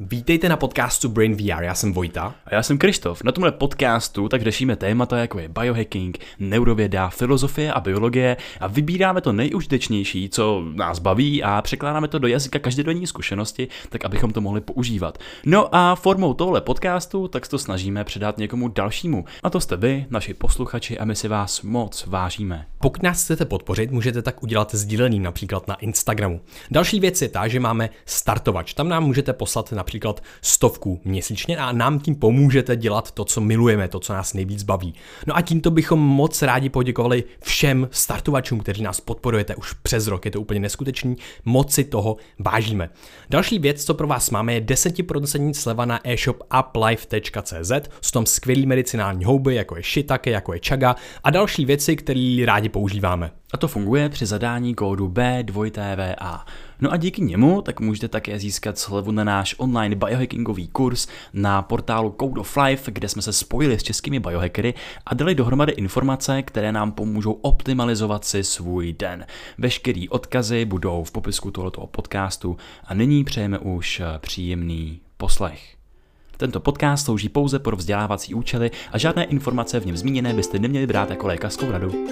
Vítejte na podcastu Brain VR, já jsem Vojta. A já jsem Krištof. Na tomhle podcastu tak řešíme témata jako je biohacking, neurověda, filozofie a biologie a vybíráme to nejužitečnější, co nás baví a překládáme to do jazyka každodenní zkušenosti, tak abychom to mohli používat. No a formou tohle podcastu tak se to snažíme předat někomu dalšímu. A to jste vy, naši posluchači, a my si vás moc vážíme. Pokud nás chcete podpořit, můžete tak udělat sdílením například na Instagramu. Další věc je ta, že máme startovač. Tam nám můžete poslat například 100 měsíčně a nám tím pomůžete dělat to, co milujeme, to, co nás nejvíc baví. No a tímto bychom moc rádi poděkovali všem startovačům, kteří nás podporujete už přes rok. Je to úplně neskutečný, moc si toho vážíme. Další věc, co pro vás máme, je 10% sleva na e-shop uplife.cz. Jsou tam skvělý medicinální houby, jako je shiitake, jako je chaga a další věci, které rádi používáme. A to funguje při zadání kódu B2TVA. No a díky němu tak můžete také získat slevu na náš online biohackingový kurz na portálu Code of Life, kde jsme se spojili s českými biohackery a dali dohromady informace, které nám pomůžou optimalizovat si svůj den. Veškerý odkazy budou v popisku tohoto podcastu a nyní přejeme už příjemný poslech. Tento podcast slouží pouze pro vzdělávací účely a žádné informace v něm zmíněné byste neměli brát jako lékařskou radu.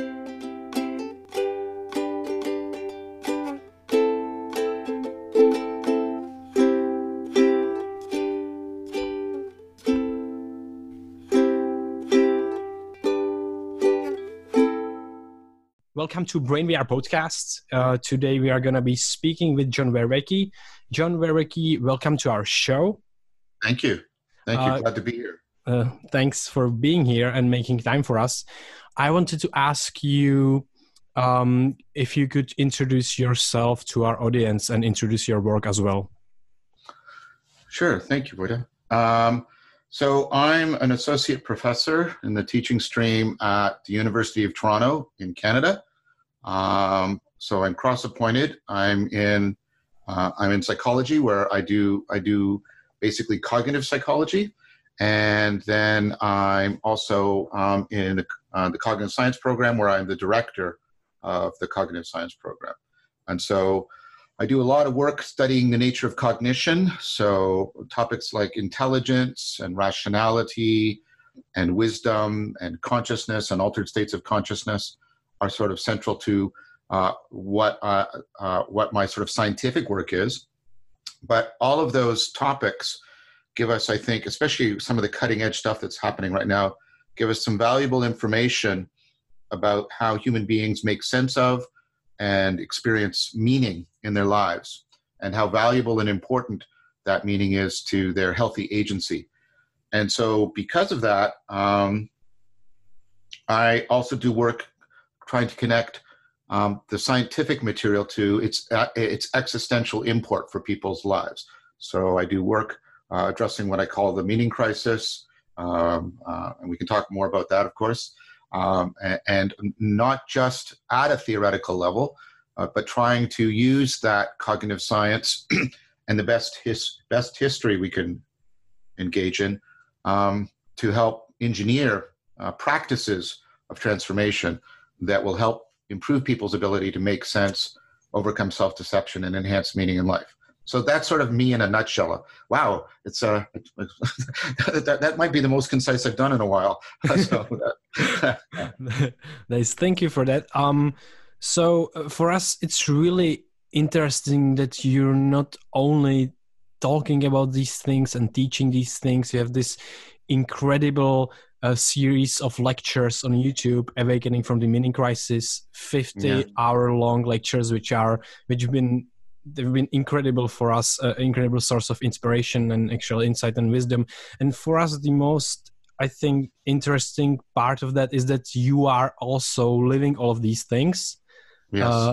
Welcome to Brain VR podcast. Today we are going to be speaking with John Vervaeke. John Vervaeke, welcome to our show. Thank you. Thank you. Glad to be here. Thanks for being here and making time for us. I wanted to ask you if you could introduce yourself to our audience and introduce your work as well. Sure. Thank you, Vojta. So I'm an associate professor in the teaching stream at the University of Toronto in Canada. So I'm cross-appointed. I'm in psychology, where I do basically cognitive psychology, and then I'm also in the cognitive science program, where I'm the director of the cognitive science program. And so I do a lot of work studying the nature of cognition. So topics like intelligence and rationality and wisdom and consciousness and altered states of consciousness are sort of central to what my sort of scientific work is. But all of those topics give us, I think, especially some of the cutting edge stuff that's happening right now, give us some valuable information about how human beings make sense of and experience meaning in their lives, and how valuable and important that meaning is to their healthy agency. And so because of that, I also do work trying to connect the scientific material to its existential import for people's lives. So I do work addressing what I call the meaning crisis, and we can talk more about that, of course, and not just at a theoretical level, but trying to use that cognitive science and the best history we can engage in to help engineer practices of transformation that will help improve people's ability to make sense, overcome self-deception, and enhance meaning in life. So that's sort of me in a nutshell. Wow, it's that might be the most concise I've done in a while. Nice, thank you for that. So for us, it's really interesting that you're not only talking about these things and teaching these things. You have this incredible series of lectures on YouTube, Awakening from the Meaning Crisis, 50-hour-long lectures, which have been incredible for us, incredible source of inspiration and actual insight and wisdom. And for us, the most, I think, interesting part of that is that you are also living all of these things. Yes.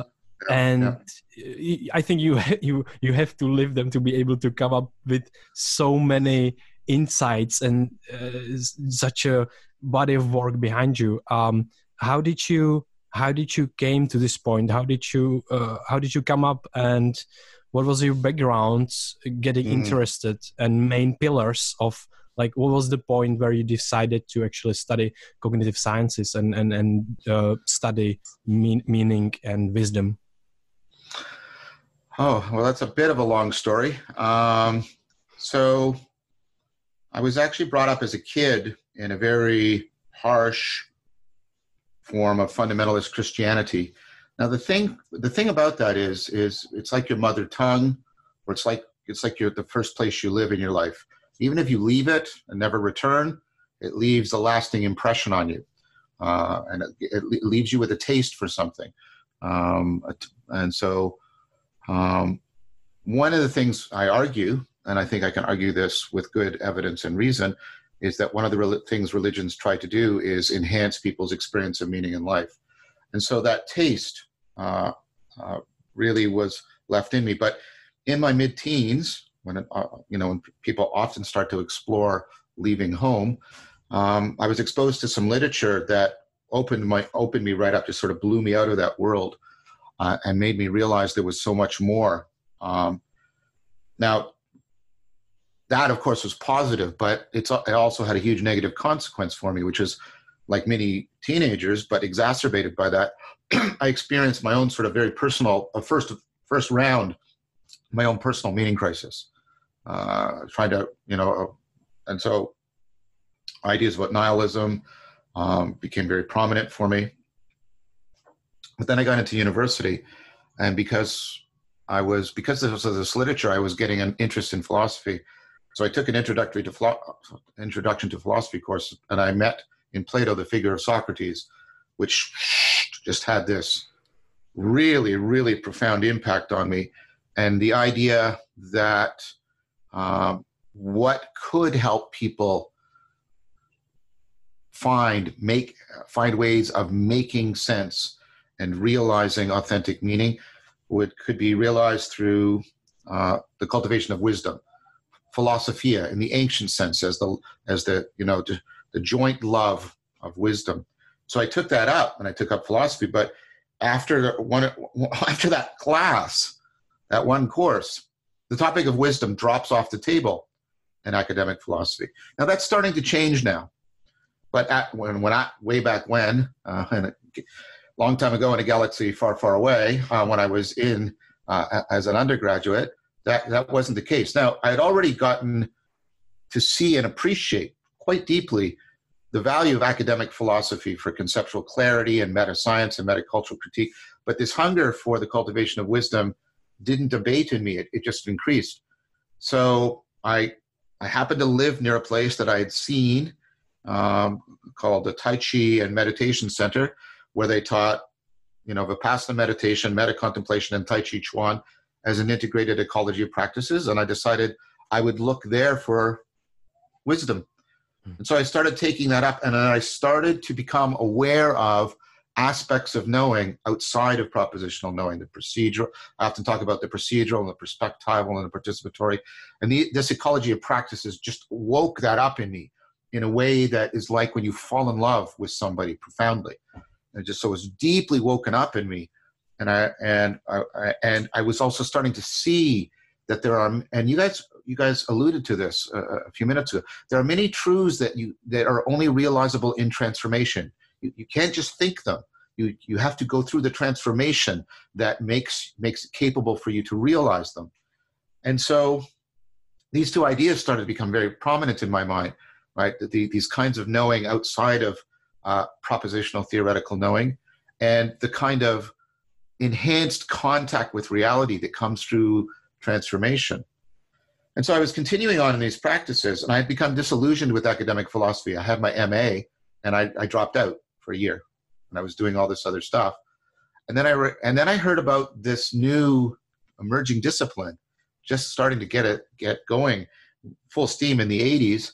I think you have to live them to be able to come up with so many insights and such a body of work behind you. How did you came to this point? How did you come up, and what was your background getting interested, and main pillars of, like, what was the point where you decided to actually study cognitive sciences and study meaning and wisdom? Oh, well, that's a bit of a long story. So I was actually brought up as a kid in a very harsh form of fundamentalist Christianity. Now, the thing about that is it's like your mother tongue, or it's like you're the first place you live in your life. Even if you leave it and never return, it leaves a lasting impression on you, and it leaves you with a taste for something. And so, one of the things I argue, and I think I can argue this with good evidence and reason, is that one of the things religions try to do is enhance people's experience of meaning in life. And so that taste really was left in me. But in my mid-teens, when people often start to explore leaving home, I was exposed to some literature that opened me right up, just sort of blew me out of that world, and made me realize there was so much more. Now, that, of course, was positive, but it also had a huge negative consequence for me, which is, like many teenagers, but exacerbated by that, I experienced my own sort of very personal, first round, my own personal meaning crisis. Trying to, and so ideas about nihilism became very prominent for me. But then I got into university, and because there was this literature, I was getting an interest in philosophy. So I took an introduction to philosophy course, and I met in Plato the figure of Socrates, which just had this really, really profound impact on me. And the idea that what could help people find ways of making sense and realizing authentic meaning could be realized through the cultivation of wisdom. Philosophia, in the ancient sense, as the joint love of wisdom. So I took that up, and I took up philosophy. But after that class, that one course, the topic of wisdom drops off the table in academic philosophy. Now that's starting to change now. But way back when, and a long time ago in a galaxy far, far away, when I was in as an undergraduate, that wasn't the case. Now, I had already gotten to see and appreciate quite deeply the value of academic philosophy for conceptual clarity and meta-science and metacultural critique, but this hunger for the cultivation of wisdom didn't abate in me. It just increased. So I happened to live near a place that I had seen called the Tai Chi and Meditation Center, where they taught, Vipassana meditation, meta-contemplation, and Tai Chi Chuan as an integrated ecology of practices. And I decided I would look there for wisdom. And so I started taking that up, and then I started to become aware of aspects of knowing outside of propositional knowing, the procedural. I often talk about the procedural and the perspectival and the participatory. And this ecology of practices just woke that up in me in a way that is like when you fall in love with somebody profoundly. And so it was deeply woken up in me. And I was also starting to see that there are, and you guys alluded to this a few minutes ago, there are many truths that are only realizable in transformation. You can't just think them. You have to go through the transformation that makes it capable for you to realize them. And so these two ideas started to become very prominent in my mind, right? These kinds of knowing outside of propositional theoretical knowing, and the kind of enhanced contact with reality that comes through transformation. And so I was continuing on in these practices, and I had become disillusioned with academic philosophy. I had my MA, and I dropped out for a year, and I was doing all this other stuff. And then I heard about this new emerging discipline, just starting to get going, full steam in the 80s,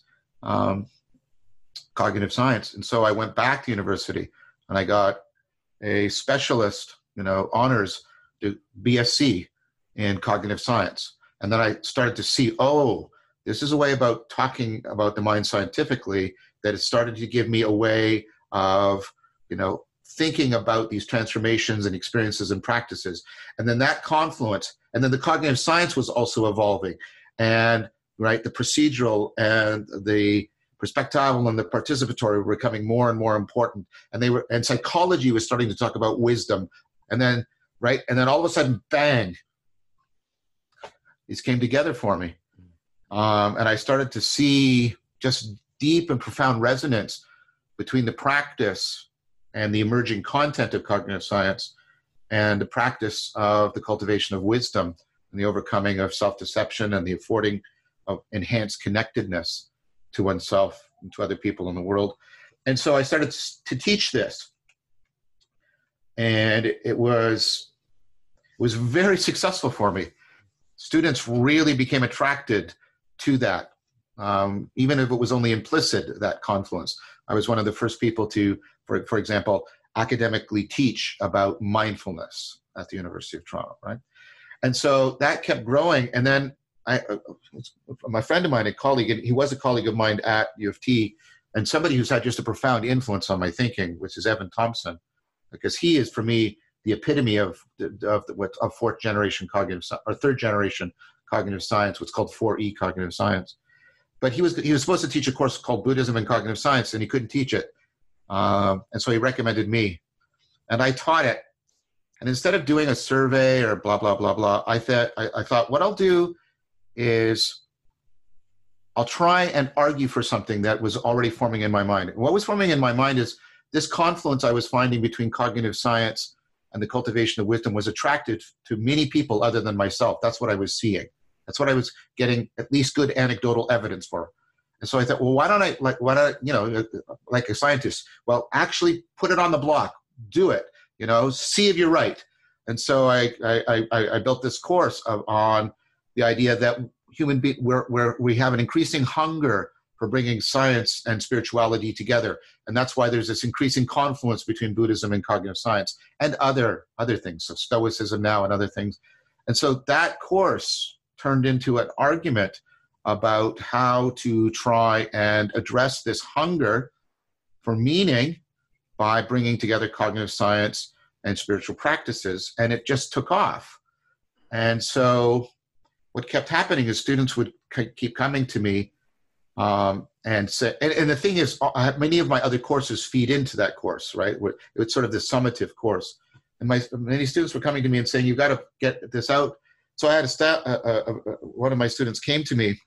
cognitive science. And so I went back to university, and I got a specialist, honors, to BSc in cognitive science. And then I started to see, this is a way about talking about the mind scientifically that it started to give me a way of, thinking about these transformations and experiences and practices. And then that confluence, and then the cognitive science was also evolving. And, right, the procedural and the perspectival and the participatory were becoming more and more important. And psychology was starting to talk about wisdom. And then, right, and then all of a sudden, bang, these came together for me. And I started to see just deep and profound resonance between the practice and the emerging content of cognitive science and the practice of the cultivation of wisdom and the overcoming of self-deception and the affording of enhanced connectedness to oneself and to other people in the world. And so I started to teach this. And it was very successful for me. Students really became attracted to that, even if it was only implicit, that confluence. I was one of the first people to, for example, academically teach about mindfulness at the University of Toronto, right? And so that kept growing. And then my friend of mine, a colleague, and he was a colleague of mine at U of T, and somebody who's had just a profound influence on my thinking, which is Evan Thompson, because he is, for me, the epitome of fourth generation cognitive or third generation cognitive science, what's called 4E cognitive science. But he was supposed to teach a course called Buddhism and Cognitive Science, and he couldn't teach it. And so he recommended me, and I taught it. And instead of doing a survey or blah, blah, blah, blah, I thought what I'll do is I'll try and argue for something that was already forming in my mind. What was forming in my mind is this confluence I was finding between cognitive science and the cultivation of wisdom was attractive to many people other than myself. That's what I was seeing. That's what I was getting at least good anecdotal evidence for. And so I thought, well, why don't I, like a scientist, well, actually put it on the block, do it, see if you're right. And so I built this course on the idea that where we have an increasing hunger for bringing science and spirituality together. And that's why there's this increasing confluence between Buddhism and cognitive science and other things, so Stoicism now and other things. And so that course turned into an argument about how to try and address this hunger for meaning by bringing together cognitive science and spiritual practices. And it just took off. And so what kept happening is students would keep coming to me and say, and the thing is, many of my other courses feed into that course, right? It's sort of the summative course. And many students were coming to me and saying, you've got to get this out. So I had one of my students came to me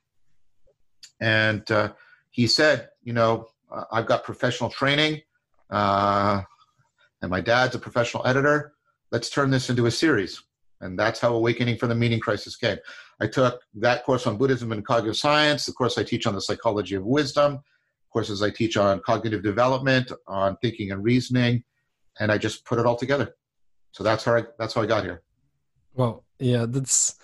and he said, I've got professional training and my dad's a professional editor. Let's turn this into a series. And that's how Awakening from the Meaning Crisis came. I took that course on Buddhism and cognitive science, the course I teach on the psychology of wisdom, courses I teach on cognitive development, on thinking and reasoning, and I just put it all together. So that's how I got here. Well, yeah, that's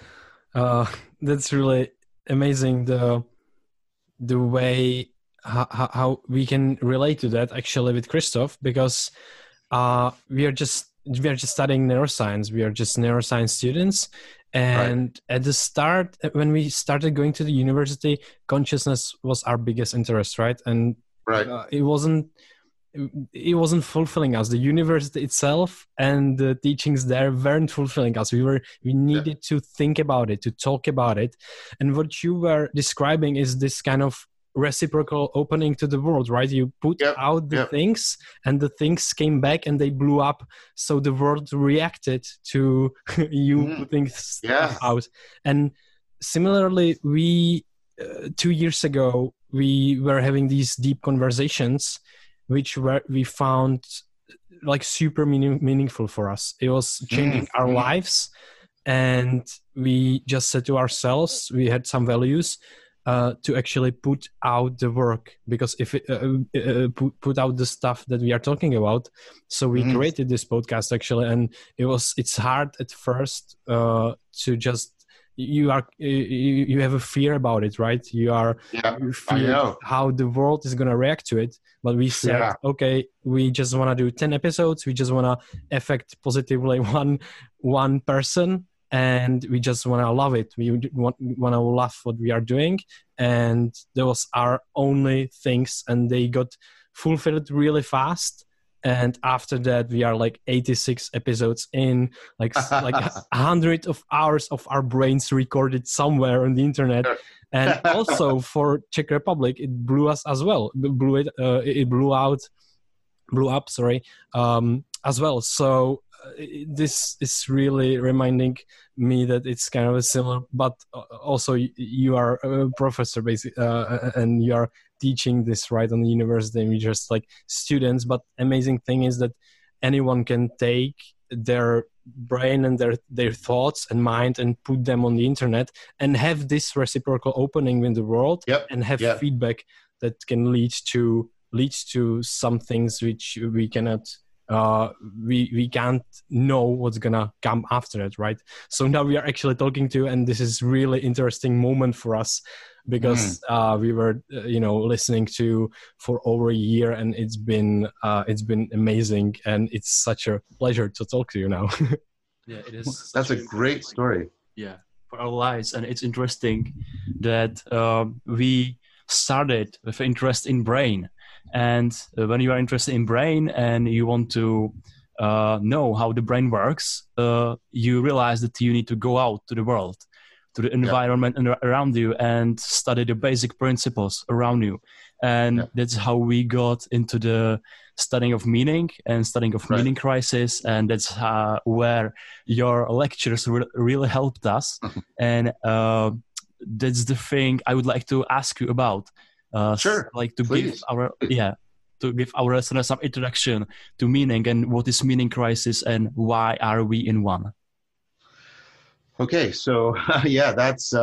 really amazing. The way how we can relate to that actually with Christoph, because we are just studying neuroscience. We are just neuroscience students. And right. At the start, when we started going to the university, consciousness was our biggest interest, right? And right. It wasn't fulfilling us. The university itself and the teachings there weren't fulfilling us. We needed to think about it, to talk about it. And what you were describing is this kind of reciprocal opening to the world, right? You put out the things and the things came back and they blew up. So the world reacted to you putting stuff out. And similarly, we 2 years ago, we were having these deep conversations, which we found like super meaningful for us. It was changing our lives. And we just said to ourselves, we had some values to actually put out the work, because if it put out the stuff that we are talking about. So we created this podcast actually, and it's hard at first to just you have a fear about it, right? You fear how the world is gonna react to it. But we said, okay, we just want to do 10 episodes. We just want to affect positively one person. And we just want to love it. We want to love what we are doing. And those are only things. And they got fulfilled really fast. And after that, we are like 86 episodes in, like 100 of hours of our brains recorded somewhere on the internet. And also for Czech Republic, it blew us as well. It blew up as well. So this is really reminding me that it's kind of a similar, but also you are a professor basically, and you are teaching this right on the university, and we just like students. But amazing thing is that anyone can take their brain and their thoughts and mind and put them on the internet and have this reciprocal opening in the world, and have feedback that can lead to some things which we cannot we can't know what's gonna come after it, right? So now we are actually talking to, and this is really interesting moment for us, because we were listening to for over a year, and it's been amazing, and it's such a pleasure to talk to you now. Yeah, it is. That's a great story. Yeah, for our lives, and it's interesting that we started with interest in brain. And when you are interested in brain and you want to know how the brain works, you realize that you need to go out to the world, to the environment around you, and study the basic principles around you. And that's how we got into the studying of meaning and studying of meaning crisis. And that's where your lectures really helped us. And that's the thing I would like to ask you about. Like to give our listeners some introduction to meaning, and what is meaning crisis, and why are we in one? Okay, so that's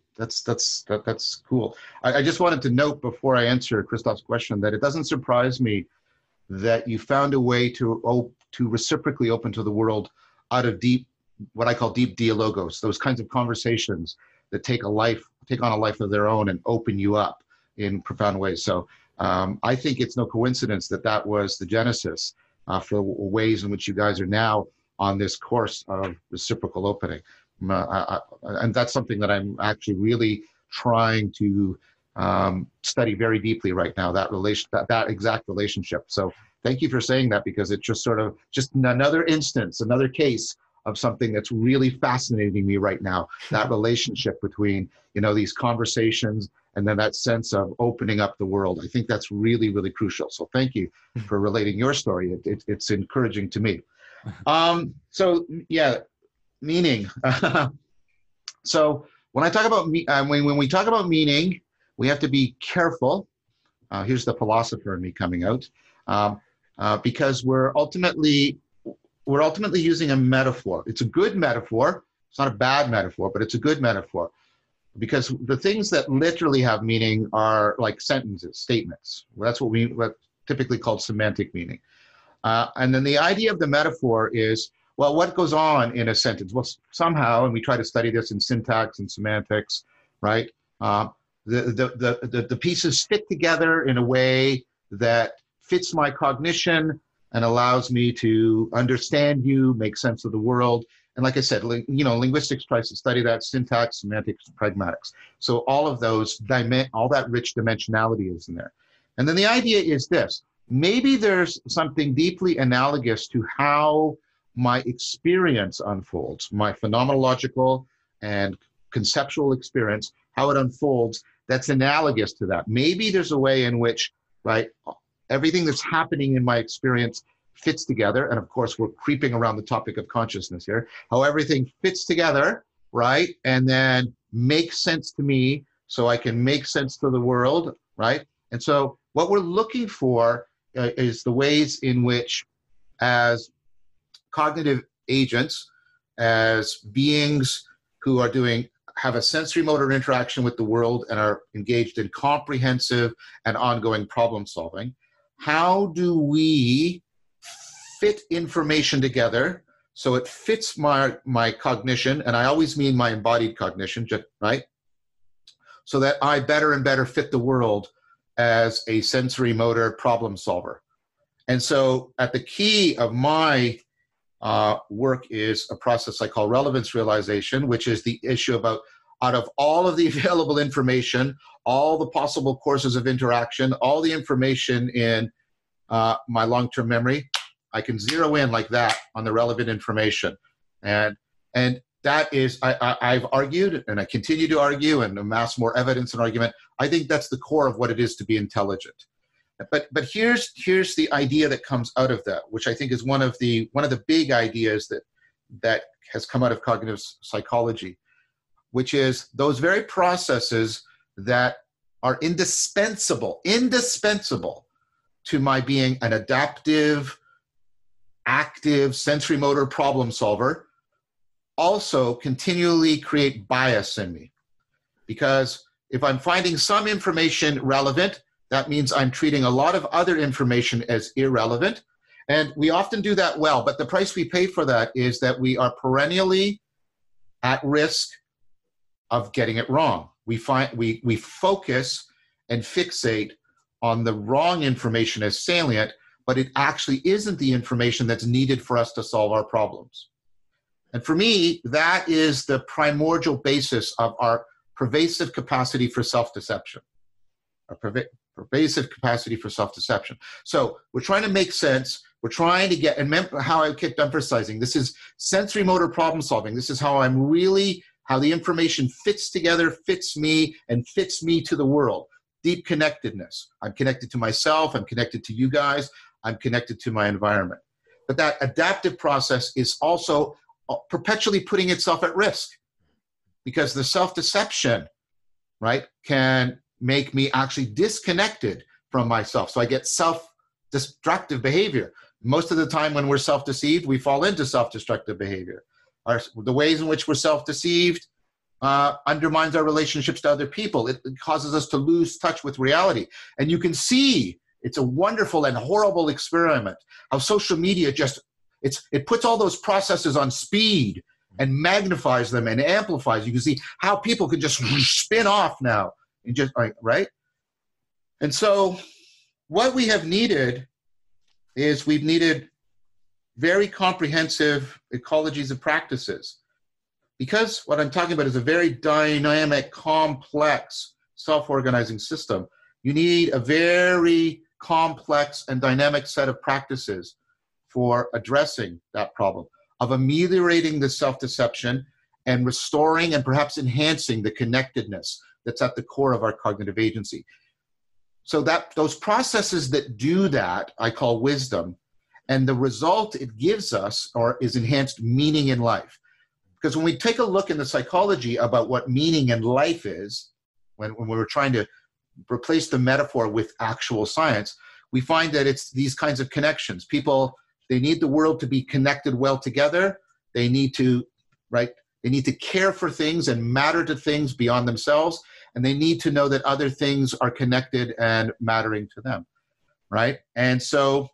cool. I just wanted to note before I answer Christoph's question that it doesn't surprise me that you found a way to reciprocally open to the world out of what I call deep dialogos, those kinds of conversations that take on a life of their own and open you up in profound ways. So I think it's no coincidence that was the genesis for ways in which you guys are now on this course of reciprocal opening. And that's something that I'm actually really trying to study very deeply right now, that exact relationship. So thank you for saying that, because it's just sort of just another instance, another case of something that's really fascinating me right now, that relationship between, these conversations and then that sense of opening up the world. I think that's really, really crucial. So thank you for relating your story. It's encouraging to me. Meaning. So when I talk about when we talk about meaning, we have to be careful. Here's the philosopher in me coming out, because we're ultimately using a metaphor. It's a good metaphor. It's not a bad metaphor, but it's a good metaphor, because the things that literally have meaning are like sentences, statements. That's what typically called semantic meaning. And then the idea of the metaphor is, well, what goes on in a sentence? Well, somehow, and we try to study this in syntax and semantics, right? The pieces fit together in a way that fits my cognition and allows me to understand you, make sense of the world. And like I said, linguistics tries to study that, syntax, semantics, pragmatics. So all of those, all that rich dimensionality is in there. And then the idea is this: maybe there's something deeply analogous to how my experience unfolds, my phenomenological and conceptual experience, how it unfolds, that's analogous to that. Maybe there's a way in which, right, everything that's happening in my experience fits together. And of course, we're creeping around the topic of consciousness here, how everything fits together, right? And then makes sense to me so I can make sense to the world, right? And so what we're looking for is the ways in which, as cognitive agents, as beings who are have a sensory motor interaction with the world and are engaged in comprehensive and ongoing problem solving, how do we fit information together so it fits my cognition, and I always mean my embodied cognition, right? So that I better and better fit the world as a sensory motor problem solver. And so at the key of my work is a process I call relevance realization, which is the issue about, out of all of the available information, all the possible courses of interaction, all the information in my long-term memory, I can zero in like that on the relevant information. And that is, I've argued, and I continue to argue and amass more evidence and argument. I think that's the core of what it is to be intelligent. But here's the idea that comes out of that, which I think is one of the big ideas that has come out of cognitive psychology, which is those very processes that are indispensable to my being an adaptive, active, sensory motor problem solver also continually create bias in me. Because if I'm finding some information relevant, that means I'm treating a lot of other information as irrelevant. And we often do that well, but the price we pay for that is that we are perennially at risk of getting it wrong. We focus and fixate on the wrong information as salient, but it actually isn't the information that's needed for us to solve our problems. And for me, that is the primordial basis of our pervasive capacity for self-deception. Pervasive capacity for self-deception. So we're trying to make sense. We're trying to get, and remember how I kept emphasizing, this is sensory motor problem solving. This is how the information fits together, fits me, and fits me to the world. Deep connectedness. I'm connected to myself. I'm connected to you guys. I'm connected to my environment. But that adaptive process is also perpetually putting itself at risk, because the self-deception, right, can make me actually disconnected from myself. So I get self-destructive behavior. Most of the time when we're self-deceived, we fall into self-destructive behavior. The ways in which we're self-deceived undermines our relationships to other people. It causes us to lose touch with reality. And you can see, it's a wonderful and horrible experiment, how social media it puts all those processes on speed and magnifies them and amplifies. You can see how people can just spin off now. And just right? And so what we have needed is we've needed very comprehensive ecologies of practices, because what I'm talking about is a very dynamic, complex, self-organizing system. You need a very complex and dynamic set of practices for addressing that problem, of ameliorating the self-deception and restoring and perhaps enhancing the connectedness that's at the core of our cognitive agency. So that those processes that do that, I call wisdom, and the result it gives us is enhanced meaning in life. Because when we take a look in the psychology about what meaning in life is, when we were trying to replace the metaphor with actual science, we find that it's these kinds of connections. People, they need the world to be connected well together. They need to, right? They need to care for things and matter to things beyond themselves. And they need to know that other things are connected and mattering to them, right? And so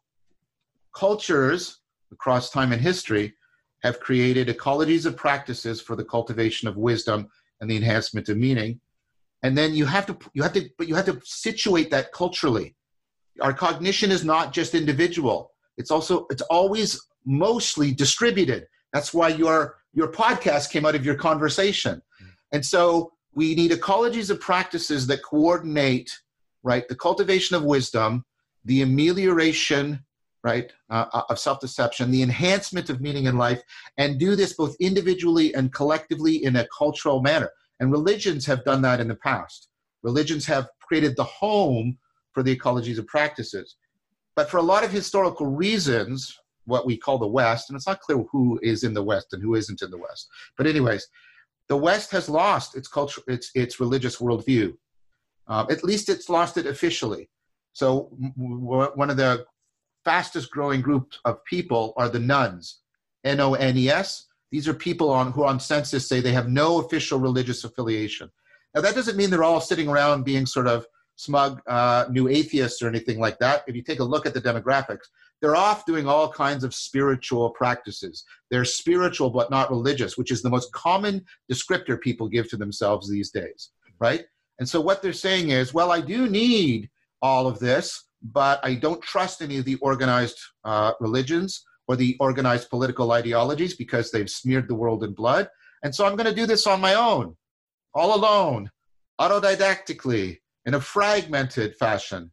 cultures across time and history have created ecologies of practices for the cultivation of wisdom and the enhancement of meaning. And then you have to situate that culturally. Our cognition is not just individual. It's always mostly distributed. That's why your podcast came out of your conversation. And so we need ecologies of practices that coordinate, right, the cultivation of wisdom, the amelioration, right, of self-deception, the enhancement of meaning in life, and do this both individually and collectively in a cultural manner. And religions have done that in the past. Religions have created the home for the ecologies of practices. But for a lot of historical reasons, what we call the West, and it's not clear who is in the West and who isn't in the West. But anyways, the West has lost its culture, its religious worldview. At least it's lost it officially. So one of the fastest growing groups of people are the nones, N-O-N-E-S. These are people who on census say they have no official religious affiliation. Now that doesn't mean they're all sitting around being sort of smug new atheists or anything like that. If you take a look at the demographics, they're off doing all kinds of spiritual practices. They're spiritual but not religious, which is the most common descriptor people give to themselves these days, right? And so what they're saying is, well, I do need all of this, but I don't trust any of the organized religions or the organized political ideologies because they've smeared the world in blood. And so I'm going to do this on my own, all alone, autodidactically, in a fragmented fashion.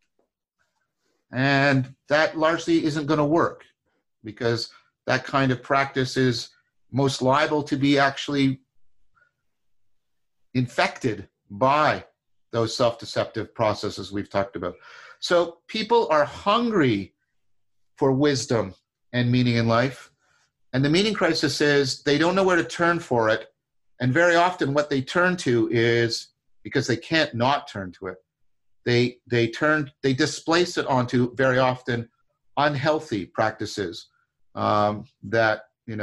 And that largely isn't going to work, because that kind of practice is most liable to be actually infected by those self-deceptive processes we've talked about. So people are hungry for wisdom and meaning in life. And the meaning crisis is they don't know where to turn for it. And very often what they turn to is, because they can't not turn to it, they displace it onto very often unhealthy practices that,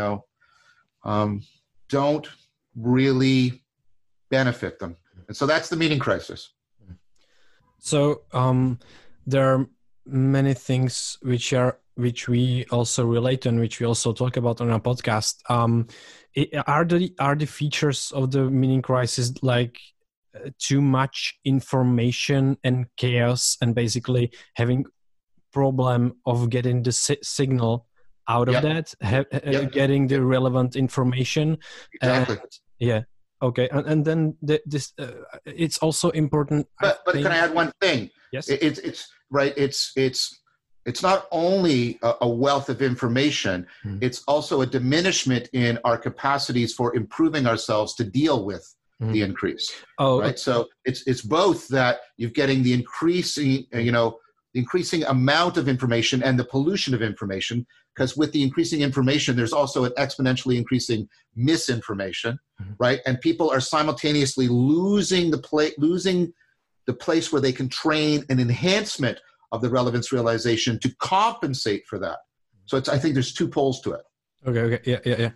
don't really benefit them. And so that's the meaning crisis. So there are many things which we also relate to and which we also talk about on our podcast. Are the features of the meaning crisis like too much information and chaos, and basically having problem of getting the signal out of that, getting the relevant information? Exactly. Okay, and then this it's also important. But can I add one thing? Yes. It's right. It's not only a wealth of information. It's also a diminishment in our capacities for improving ourselves to deal with the increase. Right. So it's both that you're getting the increasing, the increasing amount of information and the pollution of information. Because with the increasing information, there's also an exponentially increasing misinformation, right? And people are simultaneously losing the place where they can train an enhancement of the relevance realization to compensate for that. So I think there's two poles to it. Okay, yeah.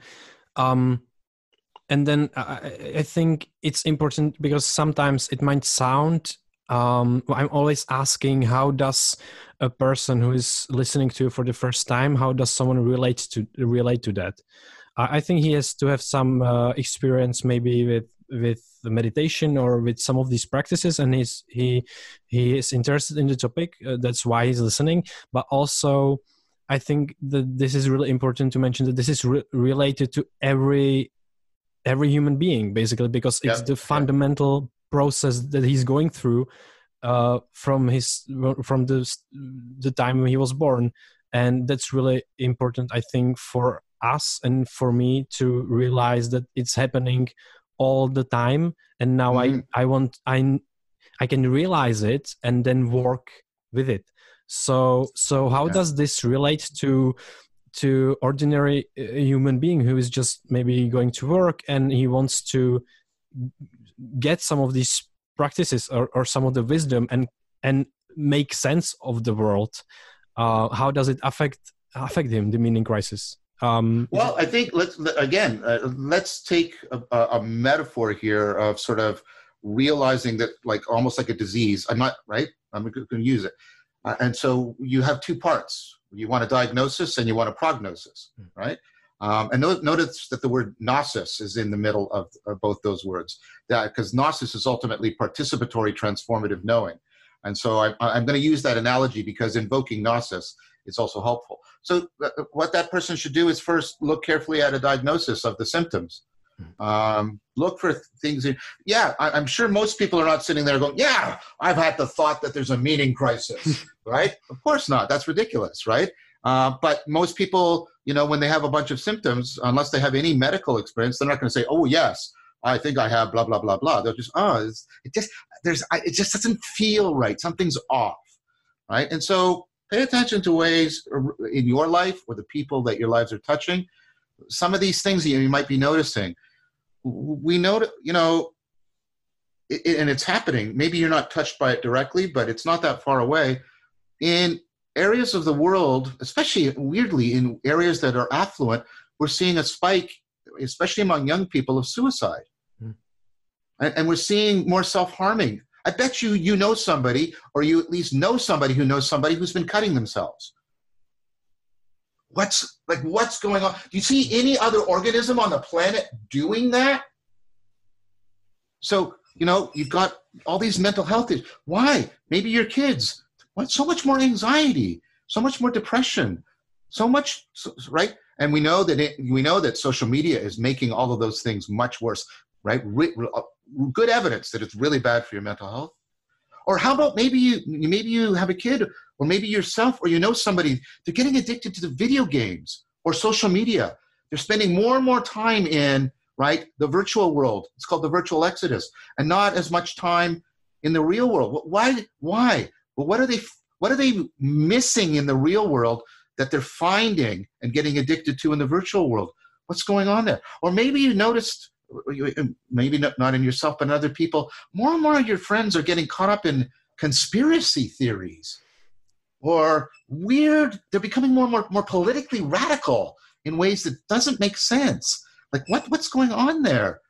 And then I think it's important because sometimes it might sound. I'm always asking, how does a person who is listening to you for the first time, how does someone relate to that? I think he has to have some experience maybe with the meditation or with some of these practices, and he is interested in the topic. That's why he's listening. But also, I think that this is really important to mention that this is related to every human being, basically, because it's the fundamental process that he's going through from the time he was born. And that's really important, I think, for us and for me to realize that it's happening all the time. And now I can realize it and then work with it. So how does this relate to ordinary human being who is just maybe going to work and he wants to get some of these practices or some of the wisdom and make sense of the world? How does it affect him, the meaning crisis? Well, I think let's take a metaphor here of sort of realizing that, like almost like a disease. I'm going to use it. And so you have two parts. You want a diagnosis and you want a prognosis, right? And notice that the word gnosis is in the middle of both those words, because gnosis is ultimately participatory transformative knowing. And so I'm going to use that analogy because invoking gnosis is also helpful. So what that person should do is first look carefully at a diagnosis of the symptoms. Look for things. I'm sure most people are not sitting there going, I've had the thought that there's a meaning crisis, right? Of course not. That's ridiculous, right? But most people, when they have a bunch of symptoms, unless they have any medical experience, they're not going to say, oh, yes, I think I have blah, blah, blah, blah. They'll just, it just doesn't feel right. Something's off, right? And so pay attention to ways in your life or the people that your lives are touching. Some of these things that you might be noticing, we know, and it's happening. Maybe you're not touched by it directly, but it's not that far away. In areas of the world, especially weirdly in areas that are affluent, we're seeing a spike, especially among young people, of suicide. And we're seeing more self-harming. I bet you know somebody, or you at least know somebody who knows somebody who's been cutting themselves. What's going on? Do you see any other organism on the planet doing that? So, you've got all these mental health issues. Why? Maybe your kids. So much more anxiety, so much more depression, so much, right? And we know that social media is making all of those things much worse, right? Good evidence that it's really bad for your mental health. Or how about maybe you have a kid, or maybe yourself, or somebody, they're getting addicted to the video games or social media. They're spending more and more time in, right, the virtual world. It's called the virtual exodus, and not as much time in the real world. Why? Well, what are they missing in the real world that they're finding and getting addicted to in the virtual world? What's going on there? Or maybe you noticed, maybe not in yourself, but in other people, more and more of your friends are getting caught up in conspiracy theories or they're becoming more and more politically radical in ways that doesn't make sense. Like what's going on there?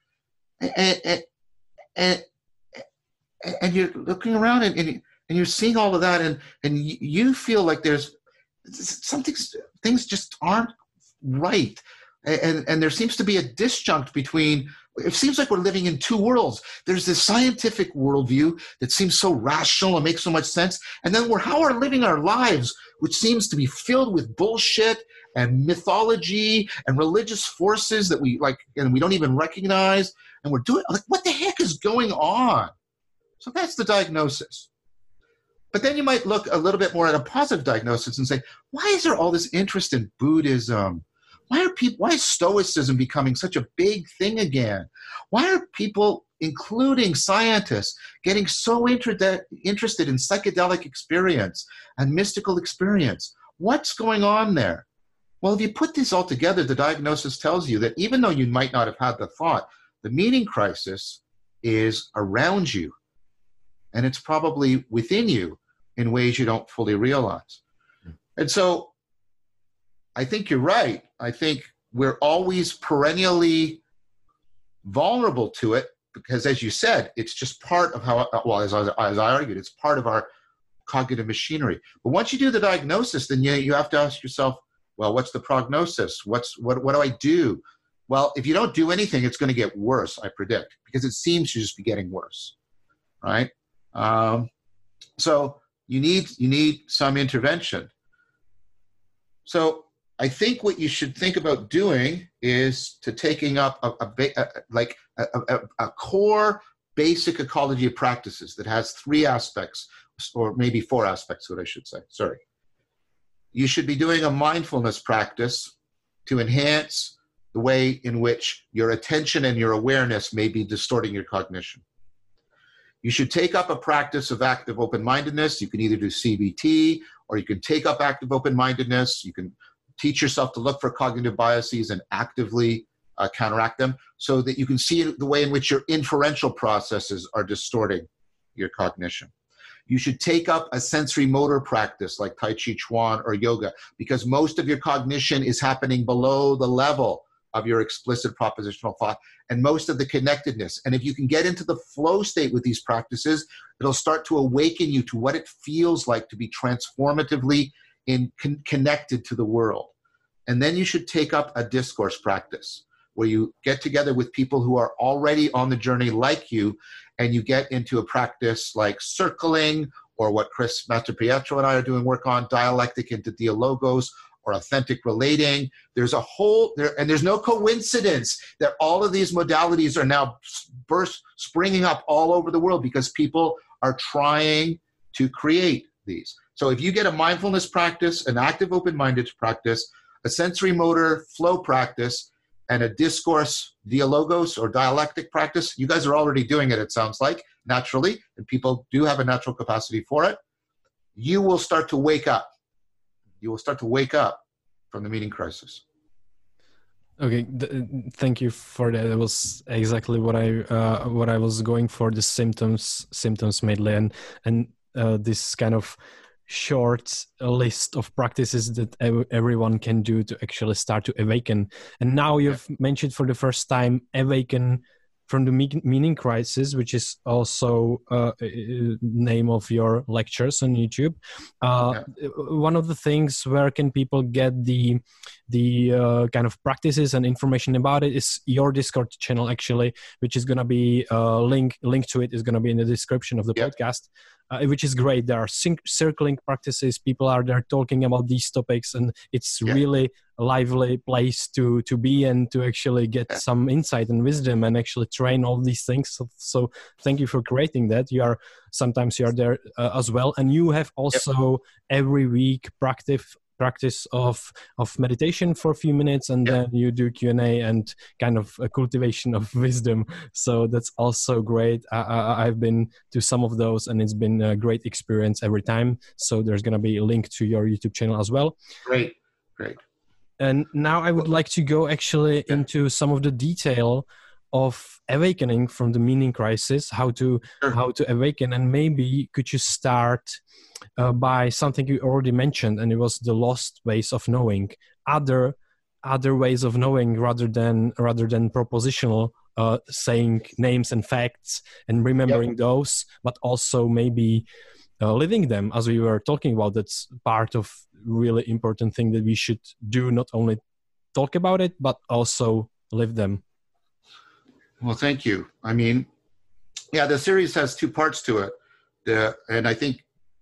And you're looking around and you're seeing all of that and you feel like there's things just aren't right. And there seems to be a disjunct between, it seems like we're living in two worlds. There's this scientific worldview that seems so rational and makes so much sense. And then how we're living our lives, which seems to be filled with bullshit and mythology and religious forces that we like, and we don't even recognize. And we're doing, like, what the heck is going on? So that's the diagnosis. But then you might look a little bit more at a positive diagnosis and say, why is there all this interest in Buddhism? Why is Stoicism becoming such a big thing again? Why are people, including scientists, getting so interested in psychedelic experience and mystical experience? What's going on there? Well, if you put this all together, the diagnosis tells you that even though you might not have had the thought, the meaning crisis is around you, and it's probably within you in ways you don't fully realize. And so I think you're right. I think we're always perennially vulnerable to it because, as you said, it's just part of how, well, as I argued, it's part of our cognitive machinery. But once you do the diagnosis, then you have to ask yourself, well, what's the prognosis? What do I do? Well, if you don't do anything, it's going to get worse, I predict, because it seems to just be getting worse, right? So you need some intervention. So I think what you should think about doing is to taking up a core basic ecology of practices that has 3 aspects, or maybe 4 aspects, what I should say. Sorry. You should be doing a mindfulness practice to enhance the way in which your attention and your awareness may be distorting your cognition. You should take up a practice of active open-mindedness. You can either do CBT, or you can take up active open-mindedness. You can teach yourself to look for cognitive biases and actively counteract them so that you can see the way in which your inferential processes are distorting your cognition. You should take up a sensory motor practice like Tai Chi Chuan or yoga, because most of your cognition is happening below the level of your explicit propositional thought and most of the connectedness. And if you can get into the flow state with these practices, it'll start to awaken you to what it feels like to be transformatively connected to the world. And then you should take up a discourse practice where you get together with people who are already on the journey like you, and you get into a practice like circling, or what Chris Mastropietro and I are doing work on, dialectic into dialogos, or authentic relating. There's a whole, and there's no coincidence that all of these modalities are now springing up all over the world because people are trying to create these. So if you get a mindfulness practice, an active open-minded practice, a sensory motor flow practice, and a discourse dialogos or dialectic practice, you guys are already doing it, it sounds like, naturally, and people do have a natural capacity for it, you will start to wake up. You will start to wake up from the meaning crisis. Okay, thank you for that. It was exactly what I was going for, the symptoms mainly, and this kind of short list of practices that everyone can do to actually start to awaken. And now you've mentioned for the first time awaken from the meaning crisis, which is also name of your lectures on YouTube. One of the things where can people get the kind of practices and information about it is your Discord channel, actually, which is going to be link to it is going to be in the description of the podcast. Which is great. There are circling practices. People are there talking about these topics, and it's really a lively place to be and to actually get some insight and wisdom and actually train all these things. So thank you for creating that. Sometimes you are there as well, and you have also every week practice of meditation for a few minutes, and then you do Q&A and kind of a cultivation of wisdom. So that's also great. I've been to some of those, and it's been a great experience every time. So there's going to be a link to your YouTube channel as well. Great. And now I would like to go actually into some of the detail of awakening from the meaning crisis, how to awaken. And maybe could you start by something you already mentioned, and it was the lost ways of knowing, other ways of knowing rather than propositional, saying names and facts and remembering those, but also maybe living them, as we were talking about. That's part of really important thing that we should do, not only talk about it, but also live them. Well, thank you. I mean, the series has two parts to it. And I think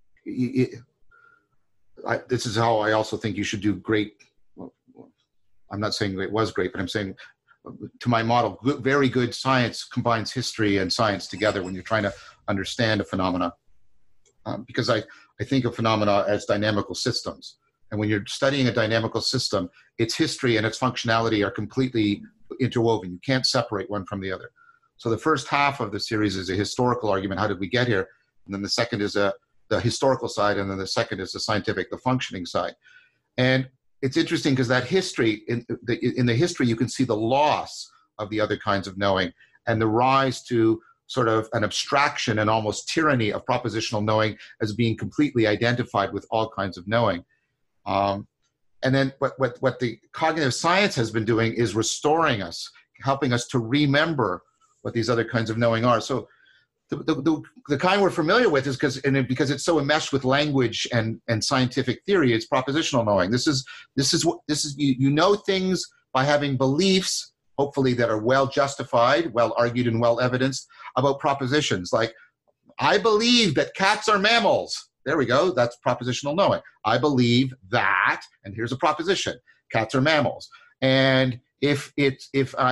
this is how I also think you should do great. Well, I'm not saying it was great, but I'm saying to my model, very good science combines history and science together when you're trying to understand a phenomena. Because I think of phenomena as dynamical systems. And when you're studying a dynamical system, its history and its functionality are completely interwoven. You can't separate one from the other. So the first half of the series is a historical argument. How did we get here? And then the second is the historical side. And then the second is the scientific, the functioning side. And it's interesting because that history, in the history, you can see the loss of the other kinds of knowing and the rise to sort of an abstraction and almost tyranny of propositional knowing as being completely identified with all kinds of knowing. And then what the cognitive science has been doing is restoring us, helping us to remember what these other kinds of knowing are. So the kind we're familiar with is because it's so enmeshed with language and scientific theory, it's propositional knowing. This is you know things by having beliefs, hopefully that are well justified, well argued, and well evidenced about propositions. Like, I believe that cats are mammals. There we go. That's propositional knowing. I believe that, and here's a proposition: cats are mammals. And if it's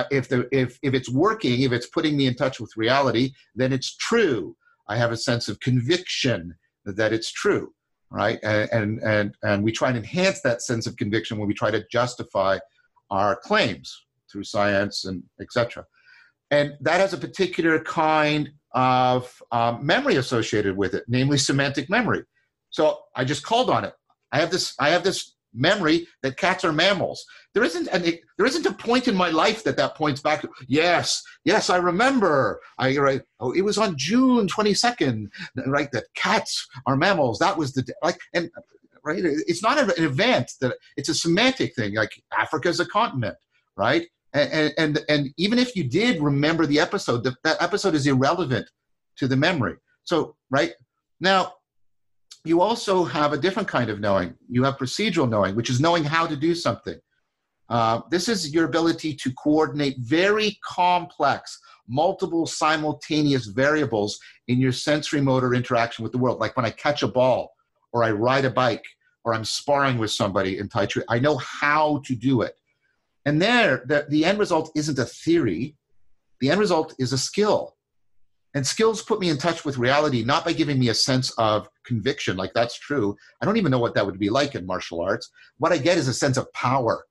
working, if it's putting me in touch with reality, then it's true. I have a sense of conviction that it's true, right? And we try and enhance that sense of conviction when we try to justify our claims through science and etc. And that has a particular kind of memory associated with it, namely semantic memory. So I just called on it. I have this memory that cats are mammals. There isn't a point in my life that points back to, yes, I remember. It was on June 22nd, right? That cats are mammals. That was right? It's not an event, that it's a semantic thing. Like, Africa is a continent, right? And even if you did remember the episode, that episode is irrelevant to the memory. So, right now, you also have a different kind of knowing. You have procedural knowing, which is knowing how to do something. This is your ability to coordinate very complex, multiple simultaneous variables in your sensory motor interaction with the world. Like when I catch a ball, or I ride a bike, or I'm sparring with somebody in Tai Chi, I know how to do it. And the end result isn't a theory. The end result is a skill. And skills put me in touch with reality, not by giving me a sense of conviction, like that's true. I don't even know what that would be like in martial arts. What I get is a sense of power.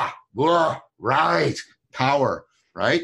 Right, power, right?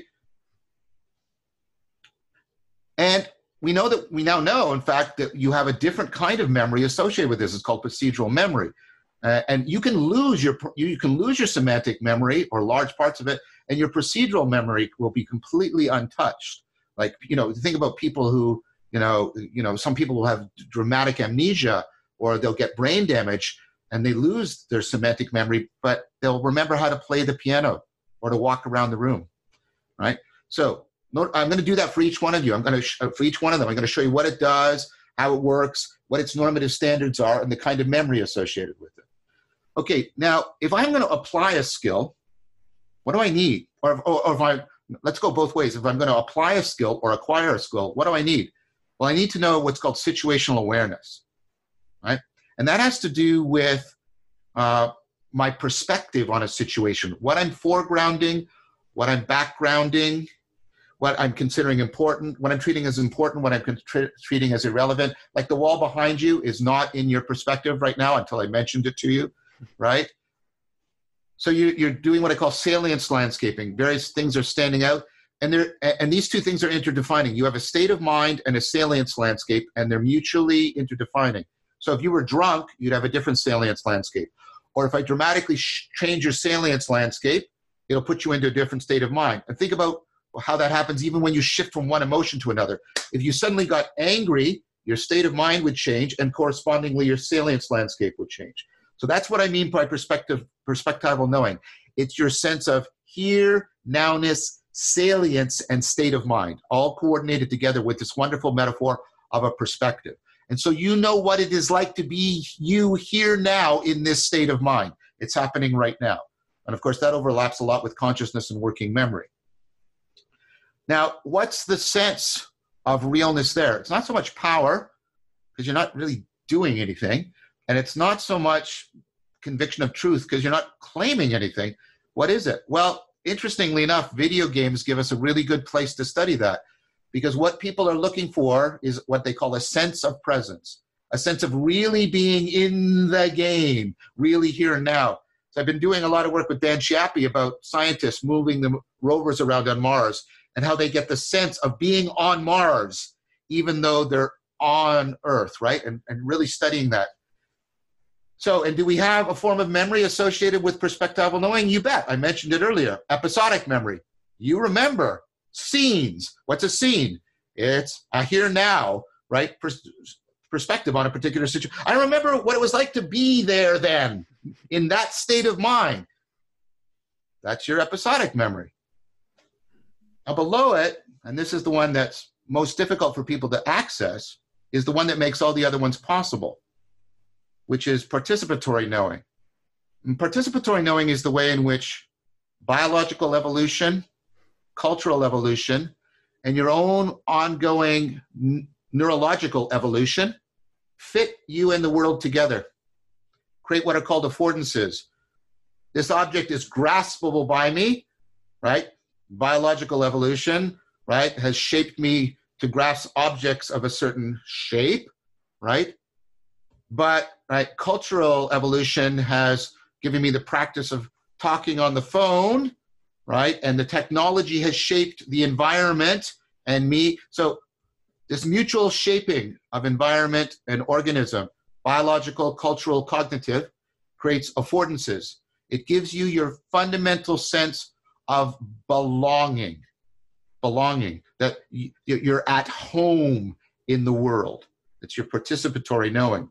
And we now know, in fact, that you have a different kind of memory associated with this. It's called procedural memory. And you can lose your semantic memory, or large parts of it, and your procedural memory will be completely untouched. Like, think about people who, some people will have dramatic amnesia, or they'll get brain damage and they lose their semantic memory, but they'll remember how to play the piano or to walk around the room, right? So I'm going to do that for each one of you. For each one of them, I'm going to show you what it does, how it works, what its normative standards are, and the kind of memory associated with it. Okay, now, if I'm going to apply a skill, what do I need? Let's go both ways. If I'm going to apply a skill or acquire a skill, what do I need? Well, I need to know what's called situational awareness, right? And that has to do with my perspective on a situation, what I'm foregrounding, what I'm backgrounding, what I'm considering important, what I'm treating as important, what I'm treating as irrelevant. Like the wall behind you is not in your perspective right now until I mentioned it to you. right? So you're doing what I call salience landscaping. Various things are standing out, and these two things are interdefining. You have a state of mind and a salience landscape, and they're mutually interdefining. So if you were drunk, you'd have a different salience landscape. Or if I dramatically change your salience landscape, it'll put you into a different state of mind. And think about how that happens even when you shift from one emotion to another. If you suddenly got angry, your state of mind would change, and correspondingly your salience landscape would change. So that's what I mean by perspectival knowing. It's your sense of here, nowness, salience, and state of mind, all coordinated together with this wonderful metaphor of a perspective. And so you know what it is like to be you here now in this state of mind. It's happening right now. And of course, that overlaps a lot with consciousness and working memory. Now, what's the sense of realness there? It's not so much power, because you're not really doing anything. And it's not so much conviction of truth, because you're not claiming anything. What is it? Well, interestingly enough, video games give us a really good place to study that, because what people are looking for is what they call a sense of presence, a sense of really being in the game, really here and now. So I've been doing a lot of work with Dan Chiappi about scientists moving the rovers around on Mars and how they get the sense of being on Mars, even though they're on Earth, right? And really studying that. So, and do we have a form of memory associated with perspectival knowing? You bet. I mentioned it earlier. Episodic memory. You remember scenes. What's a scene? It's a here now, right? Perspective on a particular situation. I remember what it was like to be there then, in that state of mind. That's your episodic memory. Now below it, and this is the one that's most difficult for people to access, is the one that makes all the other ones possible, which is participatory knowing. And participatory knowing is the way in which biological evolution, cultural evolution, and your own ongoing neurological evolution fit you and the world together, create what are called affordances. This object is graspable by me, right? Biological evolution, right, has shaped me to grasp objects of a certain shape, right? But right, cultural evolution has given me the practice of talking on the phone, right? And the technology has shaped the environment and me. So this mutual shaping of environment and organism, biological, cultural, cognitive, creates affordances. It gives you your fundamental sense of belonging, that you're at home in the world. It's your participatory knowing.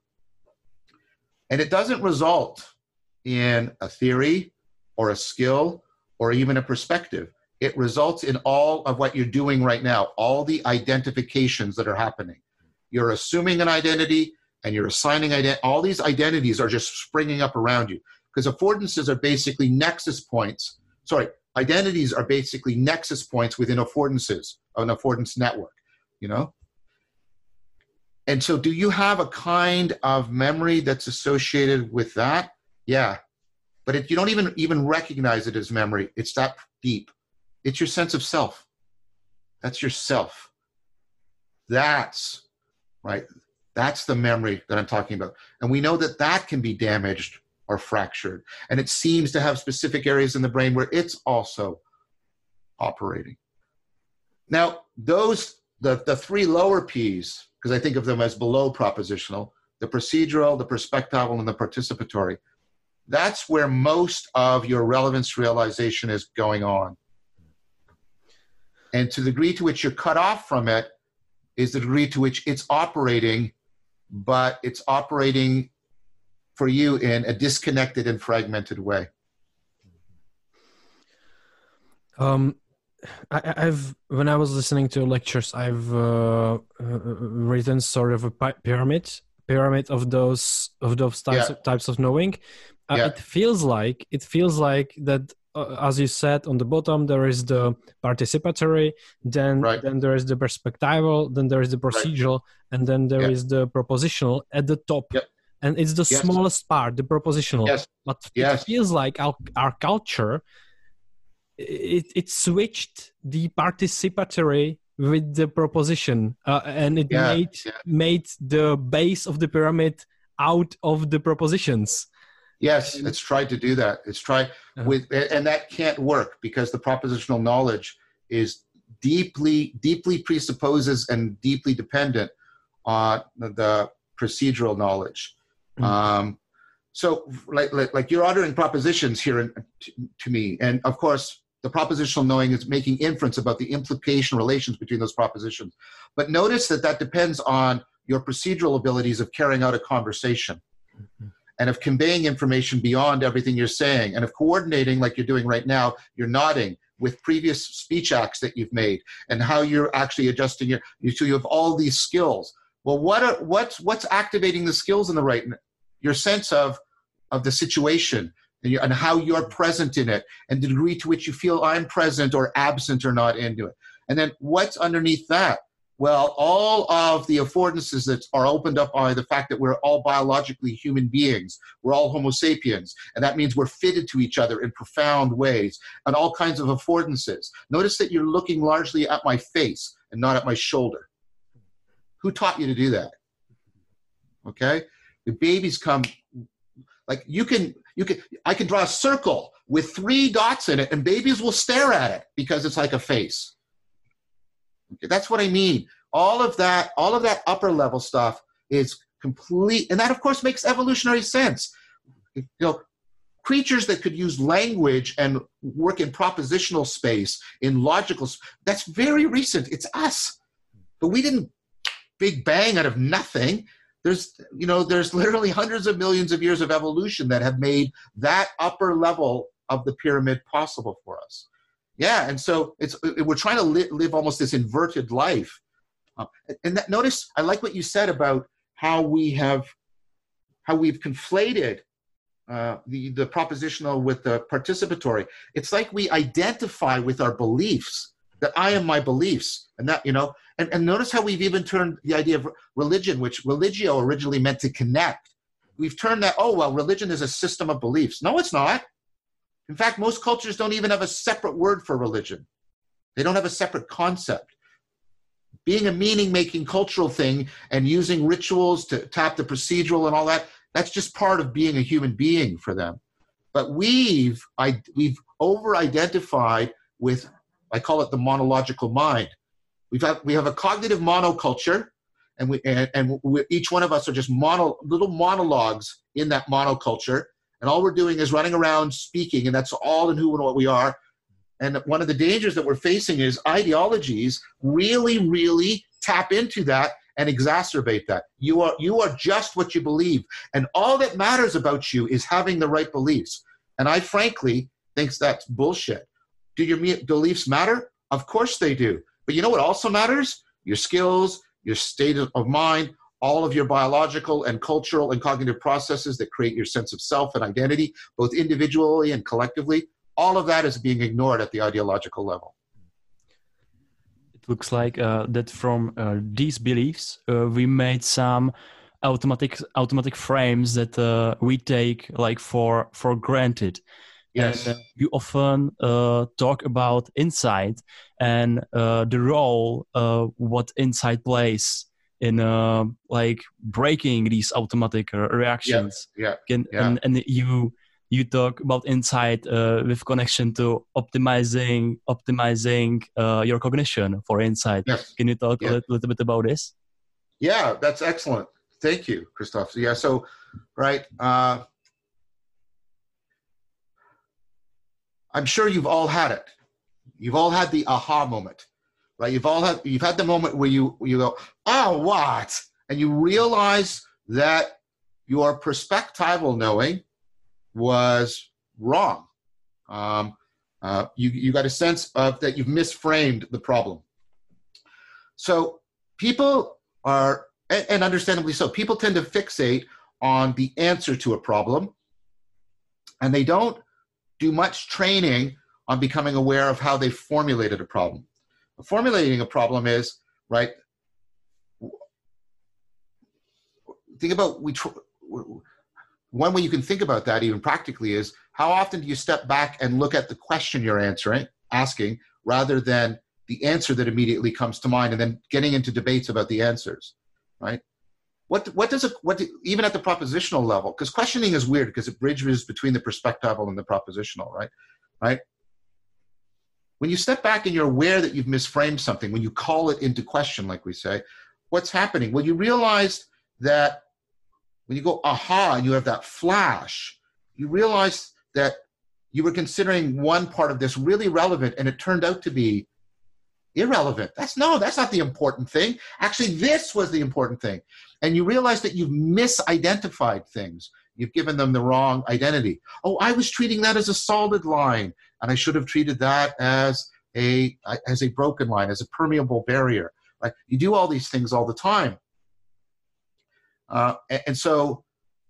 And it doesn't result in a theory or a skill or even a perspective. It results in all of what you're doing right now, all the identifications that are happening. You're assuming an identity and you're assigning identity. All these identities are just springing up around you, because affordances are basically nexus points. Identities are basically nexus points within affordances, an affordance network, you know? And so do you have a kind of memory that's associated with that? Yeah. But you don't even recognize it as memory. It's that deep. It's your sense of self. That's yourself. That's, right? That's the memory that I'm talking about. And we know that that can be damaged or fractured. And it seems to have specific areas in the brain where it's also operating. Now, the three lower P's, because I think of them as below propositional, the procedural, the perspectival, and the participatory, that's where most of your relevance realization is going on. And to the degree to which you're cut off from it is the degree to which it's operating, but it's operating for you in a disconnected and fragmented way. I've when I was listening to lectures, I've written sort of a pyramid of those types of knowing. It feels like that. As you said, on the bottom there is the participatory, then there is the perspectival, then there is the procedural, and then there is the propositional at the top. And it's the smallest part, the propositional. But it feels like our culture, it switched the participatory with the proposition, and it made the base of the pyramid out of the propositions. Yes, it's tried to do that. It's tried and that can't work because the propositional knowledge is deeply presupposes and deeply dependent on the procedural knowledge. So like you're uttering propositions here to me, and of course the propositional knowing is making inference about the implication relations between those propositions. But notice that depends on your procedural abilities of carrying out a conversation and of conveying information beyond everything you're saying, and of coordinating like you're doing right now. You're nodding with previous speech acts that you've made and how you're actually adjusting so you have all these skills. Well, what's activating the skills in the right? Your sense of the situation and how you're present in it and the degree to which you feel I'm present or absent or not into it. And then what's underneath that? Well, all of the affordances that are opened up by the fact that we're all biologically human beings. We're all Homo sapiens. And that means we're fitted to each other in profound ways and all kinds of affordances. Notice that you're looking largely at my face and not at my shoulder. Who taught you to do that? Okay? The babies come, like I can draw a circle with 3 dots in it and babies will stare at it because it's like a face. Okay, that's what I mean. All of that upper level stuff is complete, and that of course makes evolutionary sense. You know, creatures that could use language and work in propositional space, in logical, that's very recent. It's us. But we didn't big bang out of nothing. There's literally hundreds of millions of years of evolution that have made that upper level of the pyramid possible for us. Yeah, and so we're trying to live almost this inverted life. Notice, I like what you said about how we've conflated the propositional with the participatory. It's like we identify with our beliefs, that I am my beliefs, and that, and notice how we've even turned the idea of religion, which religio originally meant to connect. We've turned that, religion is a system of beliefs. No, it's not. In fact, most cultures don't even have a separate word for religion. They don't have a separate concept. Being a meaning-making cultural thing and using rituals to tap the procedural and all that, that's just part of being a human being for them. But we've over-identified with, I call it the monological mind. We have a cognitive monoculture, and each one of us are just little monologues in that monoculture. And all we're doing is running around speaking, and that's all in who and what we are. And one of the dangers that we're facing is ideologies really, really tap into that and exacerbate that. You are just what you believe. And all that matters about you is having the right beliefs. And I frankly think that's bullshit. Do your beliefs matter? Of course they do. But you know what also matters? Your skills, your state of mind, all of your biological and cultural and cognitive processes that create your sense of self and identity, both individually and collectively, all of that is being ignored at the ideological level. It looks like that from these beliefs, we made some automatic frames that we take like for granted. Yes. And you often talk about insight and the role what insight plays in like breaking these automatic reactions. Yeah. And you talk about insight with connection to optimizing your cognition for insight. Yes. Can you talk a little bit about this? Yeah, that's excellent. Thank you, Christoph. Yeah, so, right. I'm sure you've all had it. You've all had the aha moment, right? You've had the moment where you go, oh, what? And you realize that your perspectival knowing was wrong. You got a sense of that you've misframed the problem. So people are, and understandably so, people tend to fixate on the answer to a problem, and they don't do much training on becoming aware of how they formulated a problem. Formulating a problem is, right, think about, one way you can think about that even practically is, how often do you step back and look at the question you're asking, rather than the answer that immediately comes to mind and then getting into debates about the answers, right? even at the propositional level, because questioning is weird because it bridges between the perspectival and the propositional, right? Right? When you step back and you're aware that you've misframed something, when you call it into question, like we say, what's happening? Well, you realize that when you go, aha, and you have that flash, you realize that you were considering one part of this really relevant and it turned out to be irrelevant. That's not the important thing. Actually, this was the important thing. And you realize that you've misidentified things. You've given them the wrong identity. Oh, I was treating that as a solid line, and I should have treated that as a broken line, as a permeable barrier. Right? You do all these things all the time. And so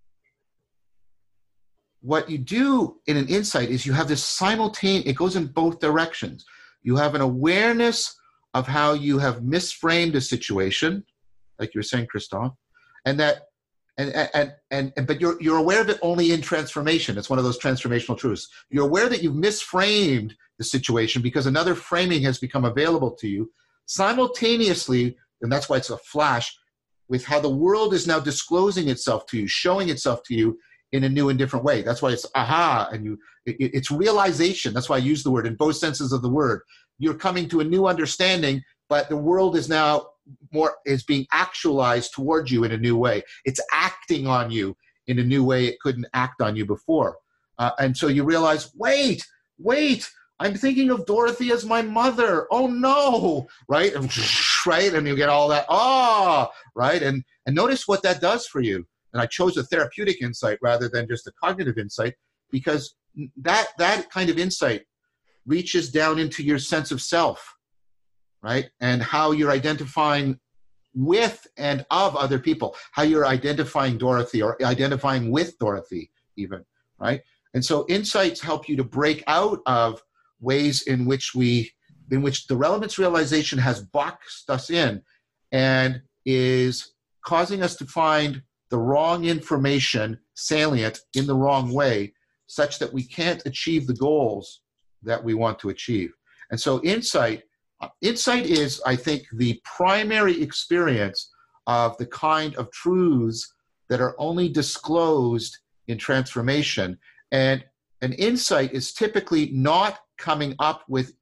what you do in an insight is you have this simultaneous, it goes in both directions. You have an awareness of how you have misframed a situation, like you were saying, Christophe, and that, but you're aware of it only in transformation. It's one of those transformational truths. You're aware that you've misframed the situation because another framing has become available to you simultaneously, and that's why it's a flash, with how the world is now disclosing itself to you, showing itself to you in a new and different way. That's why it's aha, and it's realization. That's why I use the word in both senses of the word. You're coming to a new understanding, but the world is now is being actualized towards you in a new way. It's acting on you in a new way it couldn't act on you before. And so you realize, wait, I'm thinking of Dorothy as my mother. Oh no, right? Right? And you get all that, right? And notice what that does for you. And I chose a therapeutic insight rather than just a cognitive insight, because that kind of insight reaches down into your sense of self, right? And how you're identifying with and of other people, how you're identifying Dorothy or identifying with Dorothy even, right? And so insights help you to break out of ways in which the relevance realization has boxed us in and is causing us to find the wrong information salient in the wrong way, such that we can't achieve the goals that we want to achieve. And so insight is, I think, the primary experience of the kind of truths that are only disclosed in transformation. And an insight is typically not coming up with,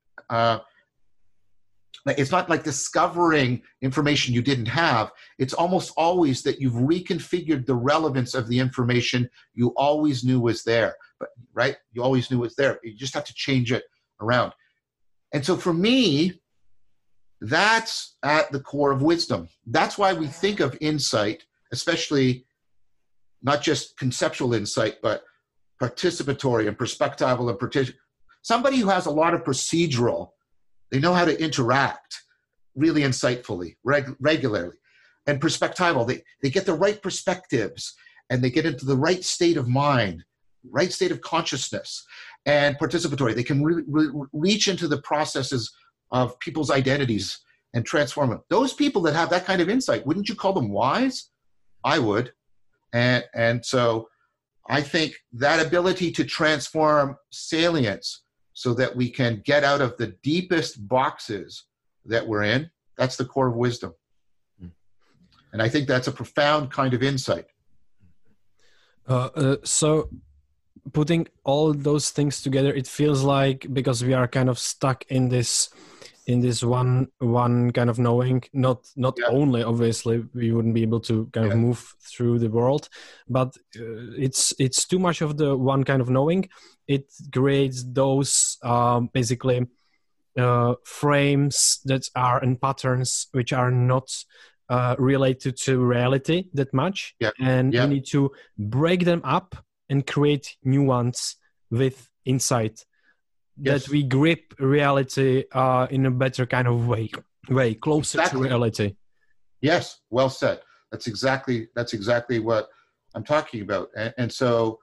it's not like discovering information you didn't have. It's almost always that you've reconfigured the relevance of the information you always knew was there. But right, you always knew it was there. You just have to change it around. And so for me, that's at the core of wisdom. That's why we think of insight, especially not just conceptual insight, but participatory and perspectival and somebody who has a lot of procedural. They know how to interact really insightfully, regularly. And perspectival, they get the right perspectives and they get into the right state of mind, right state of consciousness. And participatory, they can reach into the processes of people's identities and transform them. Those people that have that kind of insight, wouldn't you call them wise? I would. And so I think that ability to transform salience so that we can get out of the deepest boxes that we're in, that's the core of wisdom. And I think that's a profound kind of insight. So putting all those things together, it feels like, because we are kind of stuck in this one kind of knowing, not only, obviously we wouldn't be able to kind of move through the world, but it's too much of the one kind of knowing. It creates those basically frames that are and patterns which are not related to reality that much. And you need to break them up and create new ones with insight. That we grip reality in a better kind of way closer to reality. Yes, well said. That's exactly what I'm talking about. And so,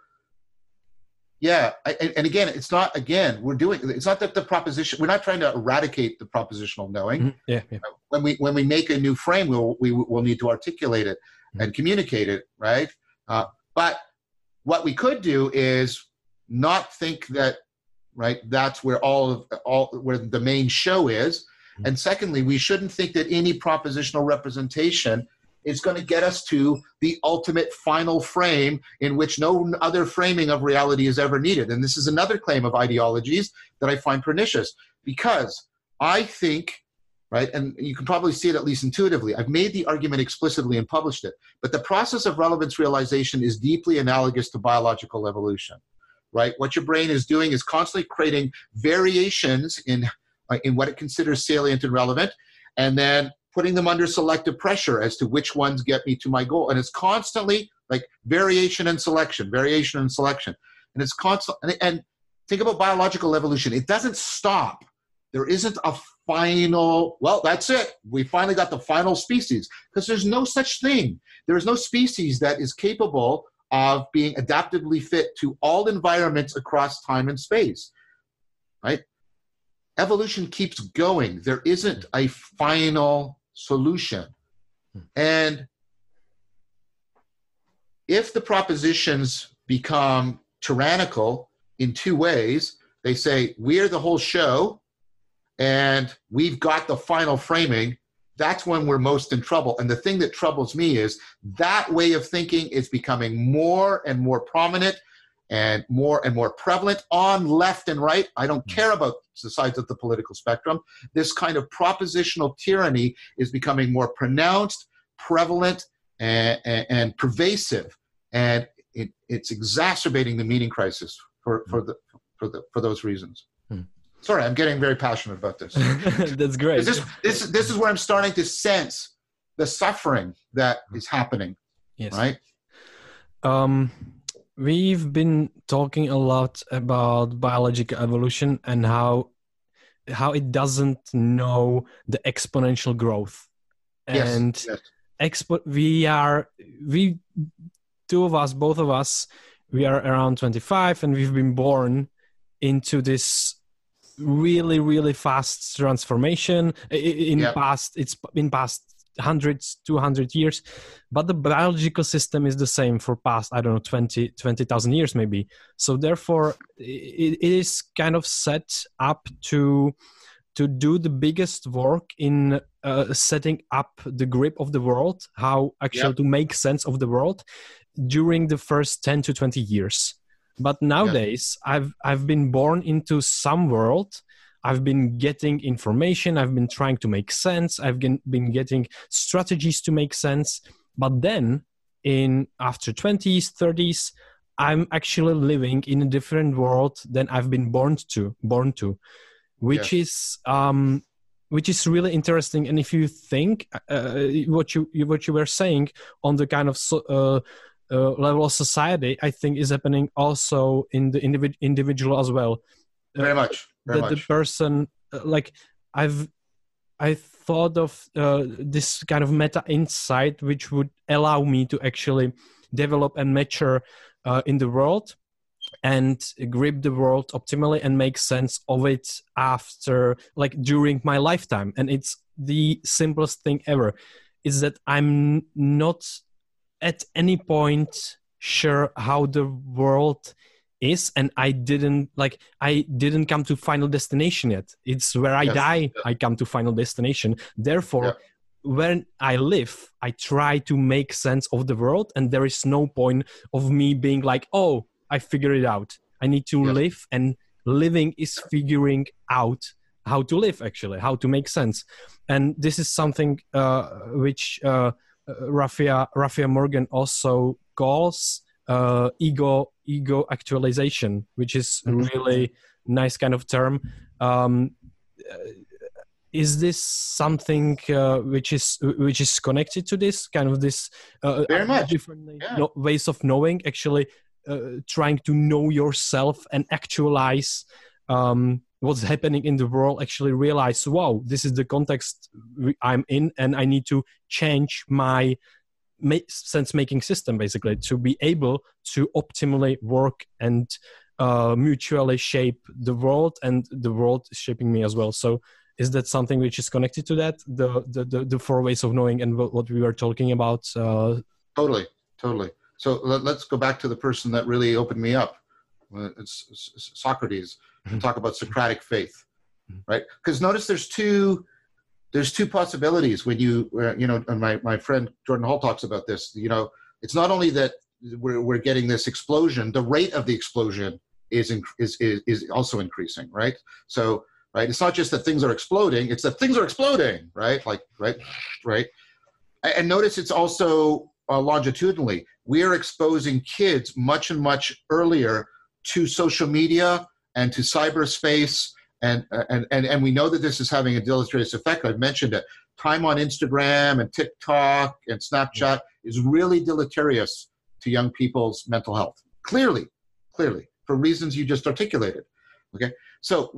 and again, it's not that the proposition, we're not trying to eradicate the propositional knowing. Mm-hmm. When we make a new frame, we'll need to articulate it and communicate it, right? But what we could do is not think that, right, that's where where the main show is. And secondly, we shouldn't think that any propositional representation is going to get us to the ultimate final frame in which no other framing of reality is ever needed. And this is another claim of ideologies that I find pernicious, because I think, right, and you can probably see it at least intuitively, I've made the argument explicitly and published it, but the process of relevance realization is deeply analogous to biological evolution, right? What your brain is doing is constantly creating variations in what it considers salient and relevant, and then putting them under selective pressure as to which ones get me to my goal. And it's constantly like variation and selection. And it's constant. And think about biological evolution. It doesn't stop. There isn't a final, well, that's it. We finally got the final species, because there's no such thing. There is no species that is capable of being adaptively fit to all environments across time and space, right? Evolution keeps going. There isn't a final solution. And if the propositions become tyrannical in two ways, they say, we're the whole show and we've got the final framing, that's when we're most in trouble. And the thing that troubles me is that way of thinking is becoming more and more prominent and more prevalent on left and right. I don't care about the sides of the political spectrum. This kind of propositional tyranny is becoming more pronounced, prevalent, and pervasive, and it's exacerbating the meaning crisis for those reasons. Sorry, I'm getting very passionate about this. That's great. This is where I'm starting to sense the suffering that is happening. Yes. Right. We've been talking a lot about biological evolution and how it doesn't know the exponential growth. And both of us, we are around 25, and we've been born into this really, really fast transformation it's been past 200 years, but the biological system is the same for past, 20,000 years maybe. So therefore it is kind of set up to do the biggest work in setting up the grip of the world, how actually to make sense of the world during the first 10 to 20 years. But nowadays I've been born into some world. I've been getting information. I've been trying to make sense. I've been getting strategies to make sense. But then after 20s, 30s, I'm actually living in a different world than I've been born to, which is really interesting. And if you think what you were saying on the kind of level of society, I think is happening also in the individual as well. Very much. The person, I thought of this kind of meta insight, which would allow me to actually develop and mature in the world and grip the world optimally and make sense of it during my lifetime. And it's the simplest thing ever, is that I'm not at any point sure how the world is, and I didn't come to final destination yet. It's where I die, I come to final destination. Therefore, when I live, I try to make sense of the world, and there is no point of me being like, oh, I figured it out. I need to live, and living is figuring out how to live, actually, how to make sense. And this is something which Rafael Morgan also calls ego actualization, which is a really nice kind of term. Is this something which is connected to this kind of this very much different ways of knowing, actually trying to know yourself and actualize what's happening in the world, actually realize, wow, this is the context I'm in, and I need to change my sense-making system, basically, to be able to optimally work and mutually shape the world, and the world is shaping me as well. So is that something which is connected to that, the four ways of knowing and what we were talking about? Totally. So let's go back to the person that really opened me up. It's Socrates. And talk about Socratic faith, right? Because notice there's two there's two possibilities when you know, and my friend Jordan Hall talks about this. You know, it's not only that we're getting this explosion, the rate of the explosion is also increasing, right? So, right, it's not just that things are exploding, it's that things are exploding, right? Like, right. And notice it's also longitudinally. We are exposing kids much earlier to social media and to cyberspace, and we know that this is having a deleterious effect. I've mentioned it. Time on Instagram and TikTok and Snapchat is really deleterious to young people's mental health. Clearly, for reasons you just articulated. Okay, so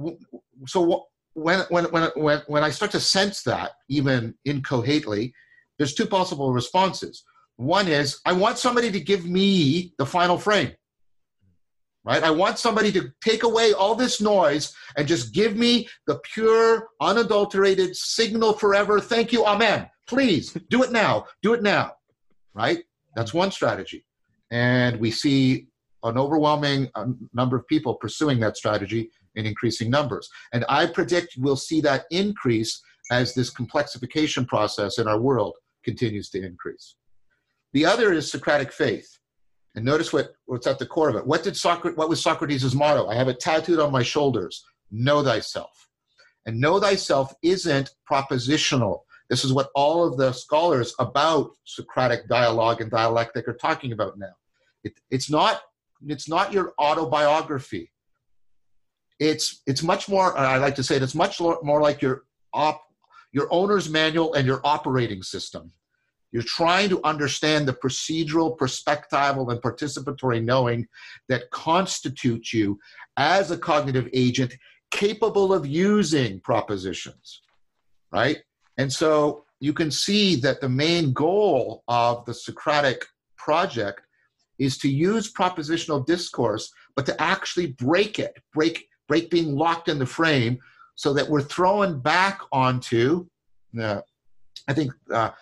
when I start to sense that, even incoherently, there's two possible responses. One is, I want somebody to give me the final frame, right? I want somebody to take away all this noise and just give me the pure, unadulterated signal forever. Thank you, amen. Please, do it now, right? That's one strategy. And we see an overwhelming number of people pursuing that strategy in increasing numbers. And I predict we'll see that increase as this complexification process in our world continues to increase. The other is Socratic faith. And notice what's at the core of it. What was Socrates' motto? I have it tattooed on my shoulders. Know thyself. And know thyself isn't propositional. This is what all of the scholars about Socratic dialogue and dialectic are talking about now. It's not your autobiography. It's much more, I like to say it's much more like your owner's manual and your operating system. You're trying to understand the procedural, perspectival, and participatory knowing that constitutes you as a cognitive agent capable of using propositions, right? And so you can see that the main goal of the Socratic project is to use propositional discourse, but to actually break being locked in the frame so that we're thrown back onto, I think,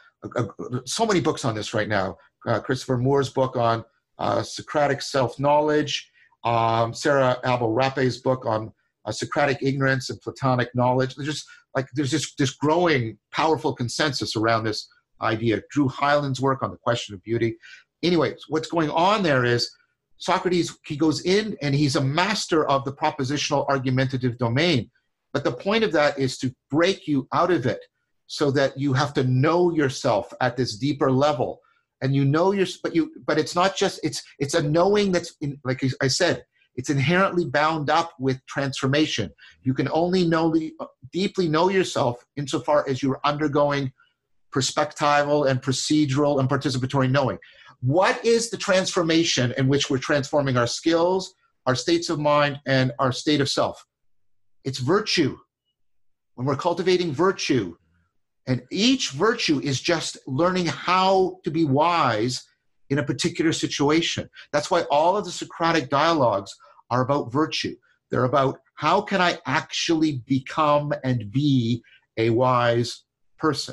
so many books on this right now. Christopher Moore's book on Socratic self-knowledge, Sarah Abel-Rappe's book on Socratic ignorance and Platonic knowledge. There's this growing powerful consensus around this idea. Drew Hyland's work on the question of beauty. Anyway, what's going on there is Socrates, he goes in and he's a master of the propositional argumentative domain. But the point of that is to break you out of it, so that you have to know yourself at this deeper level, and you know but it's not just it's a knowing that's like I said, it's inherently bound up with transformation. You can only deeply know yourself insofar as you're undergoing perspectival and procedural and participatory knowing. What is the transformation in which we're transforming our skills, our states of mind, and our state of self? It's virtue. When we're cultivating virtue. And each virtue is just learning how to be wise in a particular situation. That's why all of the Socratic dialogues are about virtue. They're about how can I actually become and be a wise person.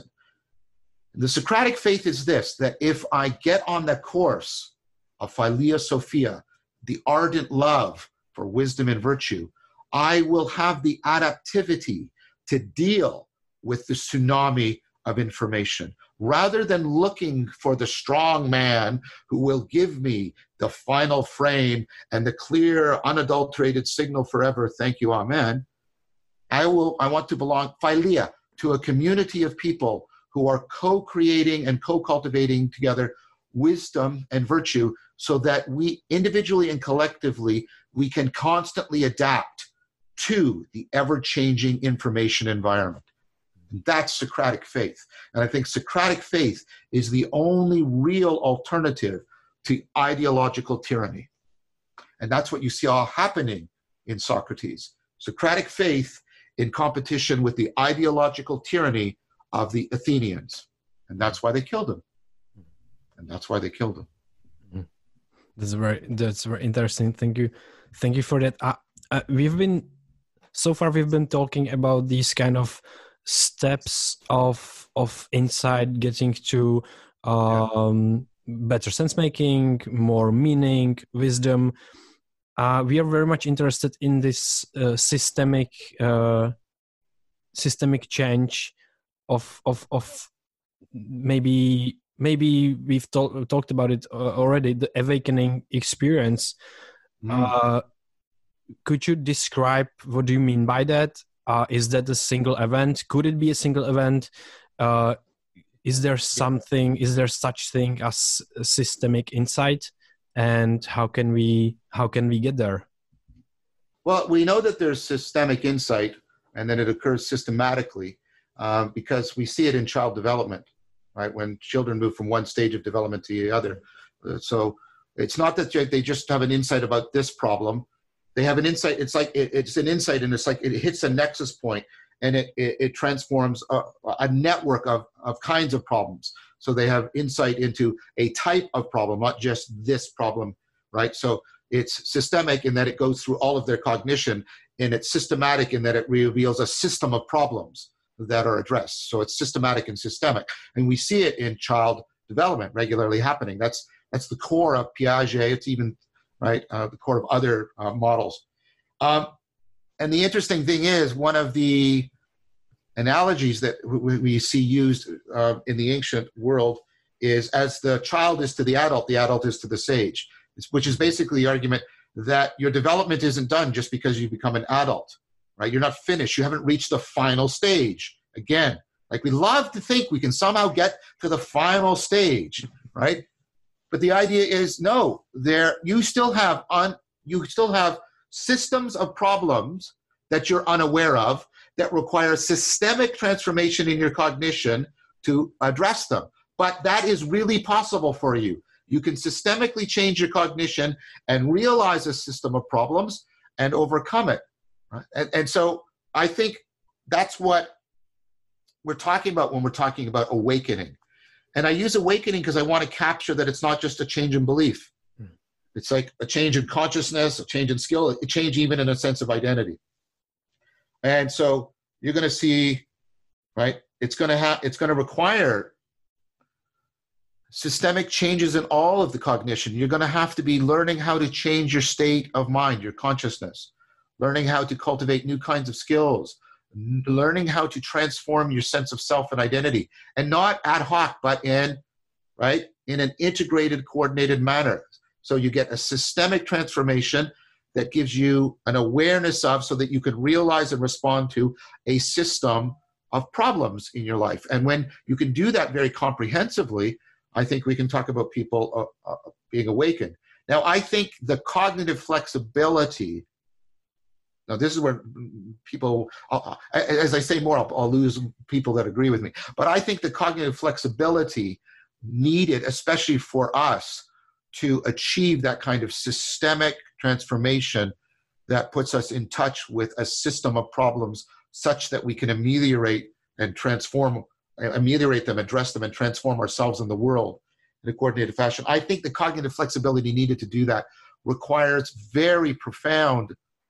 The Socratic faith is this, that if I get on the course of Philia Sophia, the ardent love for wisdom and virtue, I will have the adaptivity to deal with the tsunami of information, rather than looking for the strong man who will give me the final frame and the clear, unadulterated signal forever, thank you, amen. I want to belong, Philia, to a community of people who are co-creating and co-cultivating together wisdom and virtue, so that we individually and collectively, we can constantly adapt to the ever-changing information environment. That's Socratic faith. And I think Socratic faith is the only real alternative to ideological tyranny. And that's what you see all happening in Socrates. Socratic faith in competition with the ideological tyranny of the Athenians. And that's why they killed him. That's very interesting. Thank you for that. We've been talking about these kind of steps of insight, getting to better sense making, more meaning, wisdom. We are very much interested in this systemic change. of maybe we've talked about it already, the awakening experience. Could you describe what do you mean by that? Is that a single event? Could it be a single event? Is there such thing as systemic insight, and how can we get there? Well, we know that there's systemic insight and that it occurs systematically because we see it in child development, right? When children move from one stage of development to the other. So it's not that they just have an insight about this problem. They have an insight. It's like it's an insight, and it's like it hits a nexus point, and it transforms a network of kinds of problems. So they have insight into a type of problem, not just this problem, right? So it's systemic in that it goes through all of their cognition, and it's systematic in that it reveals a system of problems that are addressed. So it's systematic and systemic. And we see it in child development regularly happening. That's the core of Piaget. It's even, right, the core of other models. And the interesting thing is, one of the analogies that we see used in the ancient world is as the child is to the adult is to the sage, which is basically the argument that your development isn't done just because you become an adult, right? You're not finished. You haven't reached the final stage. Again, like we love to think we can somehow get to the final stage, right? But the idea is no, you still have systems of problems that you're unaware of that require systemic transformation in your cognition to address them. But that is really possible for you. You can systemically change your cognition and realize a system of problems and overcome it. Right? And so I think that's what we're talking about when we're talking about awakening. And I use awakening because I want to capture that it's not just a change in belief. It's like a change in consciousness, a change in skill, a change even in a sense of identity. And so you're going to see, right, it's going to require systemic changes in all of the cognition. You're going to have to be learning how to change your state of mind, your consciousness, learning how to cultivate new kinds of skills, learning how to transform your sense of self and identity, and not ad hoc, but in an integrated, coordinated manner. So you get a systemic transformation that gives you an awareness of, so that you can realize and respond to a system of problems in your life. And when you can do that very comprehensively, I think we can talk about people being awakened. Now, I think the cognitive flexibility, now this is where people, as I say more, I'll lose people that agree with me. But I think the cognitive flexibility needed, especially for us, to achieve that kind of systemic transformation that puts us in touch with a system of problems such that we can ameliorate them, address them, and transform ourselves in the world in a coordinated fashion. I think the cognitive flexibility needed to do that requires very profound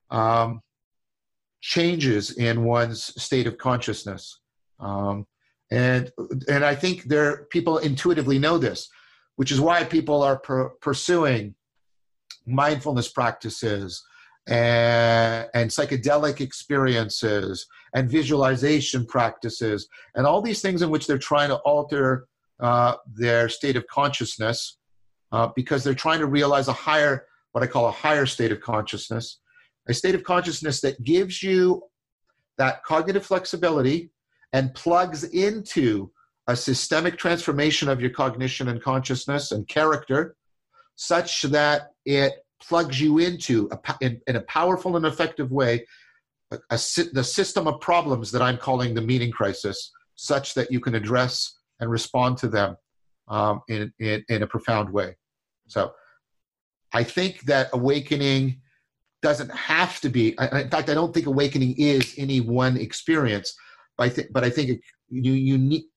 changes in one's state of consciousness. And I think people intuitively know this, which is why people are pursuing mindfulness practices and psychedelic experiences and visualization practices and all these things in which they're trying to alter their state of consciousness because they're trying to realize what I call a higher state of consciousness, a state of consciousness that gives you that cognitive flexibility and plugs into a systemic transformation of your cognition and consciousness and character, such that it plugs you into, in a powerful and effective way, the system of problems that I'm calling the meaning crisis, such that you can address and respond to them in a profound way. So I think that awakening doesn't have to be, in fact, I don't think awakening is any one experience, but I think you need,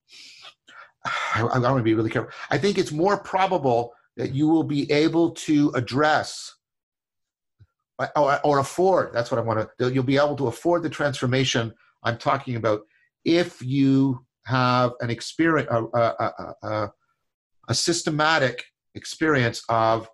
I want to be really careful. I think it's more probable that you will be able to address or afford, that's what I want to, you'll be able to afford the transformation I'm talking about if you have an experience, a systematic experience of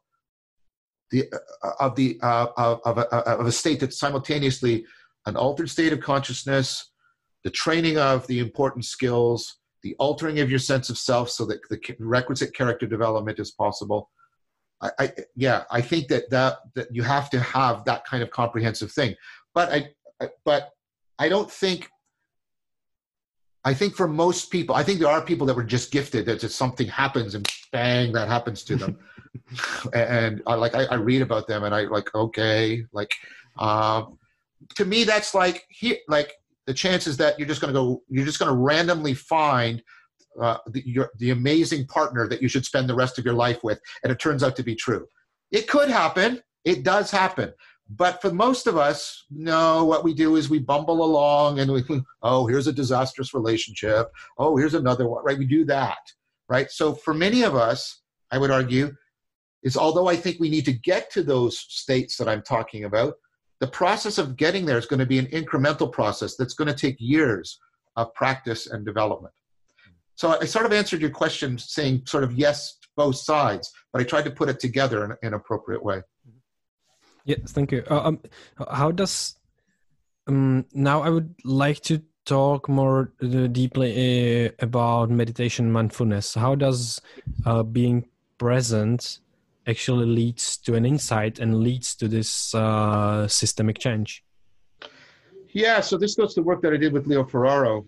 a state that's simultaneously an altered state of consciousness, the training of the important skills, the altering of your sense of self so that the requisite character development is possible. I think that you have to have that kind of comprehensive thing. But I don't think, I think for most people, I think there are people that were just gifted, that just something happens and bang, that happens to them. And I read about them and I like, okay, like, to me, that's like the chances that you're just going to randomly find the amazing partner that you should spend the rest of your life with, and it turns out to be true. It could happen. It does happen. But for most of us, no, what we do is we bumble along and oh, here's a disastrous relationship. Oh, here's another one, right? We do that, right? So for many of us, I would argue, is although I think we need to get to those states that I'm talking about, the process of getting there is going to be an incremental process that's going to take years of practice and development. So I sort of answered your question saying sort of yes to both sides, but I tried to put it together in an appropriate way. Yes, thank you. How does now I would like to talk more deeply about meditation mindfulness. How does being present actually leads to an insight and leads to this systemic change? Yeah, so this goes to the work that I did with Leo Ferraro.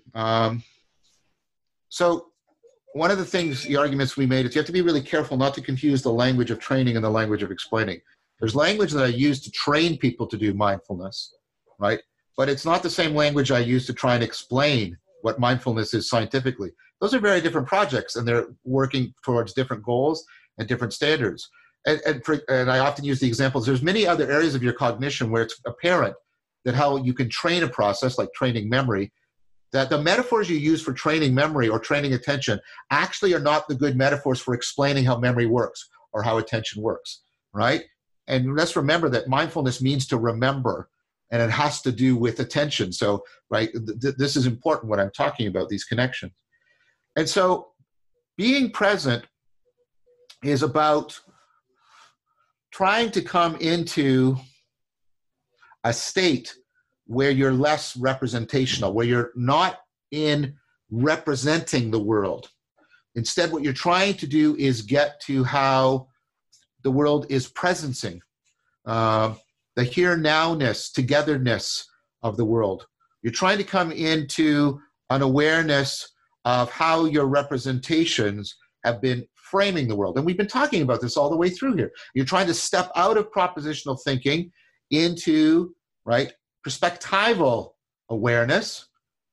So one of the things, the arguments we made is you have to be really careful not to confuse the language of training and the language of explaining. There's language that I use to train people to do mindfulness, right? But it's not the same language I use to try and explain what mindfulness is scientifically. Those are very different projects, and they're working towards different goals and different standards. And I often use the examples. There's many other areas of your cognition where it's apparent that how you can train a process like training memory, that the metaphors you use for training memory or training attention actually are not the good metaphors for explaining how memory works or how attention works, right? And let's remember that mindfulness means to remember, and it has to do with attention. So, right, this is important what I'm talking about, these connections. And so being present is about trying to come into a state where you're less representational, where you're not in representing the world. Instead, what you're trying to do is get to how the world is presencing, the here-nowness, togetherness of the world. You're trying to come into an awareness of how your representations have been framing the world. And we've been talking about this all the way through here. You're trying to step out of propositional thinking into, right, perspectival awareness,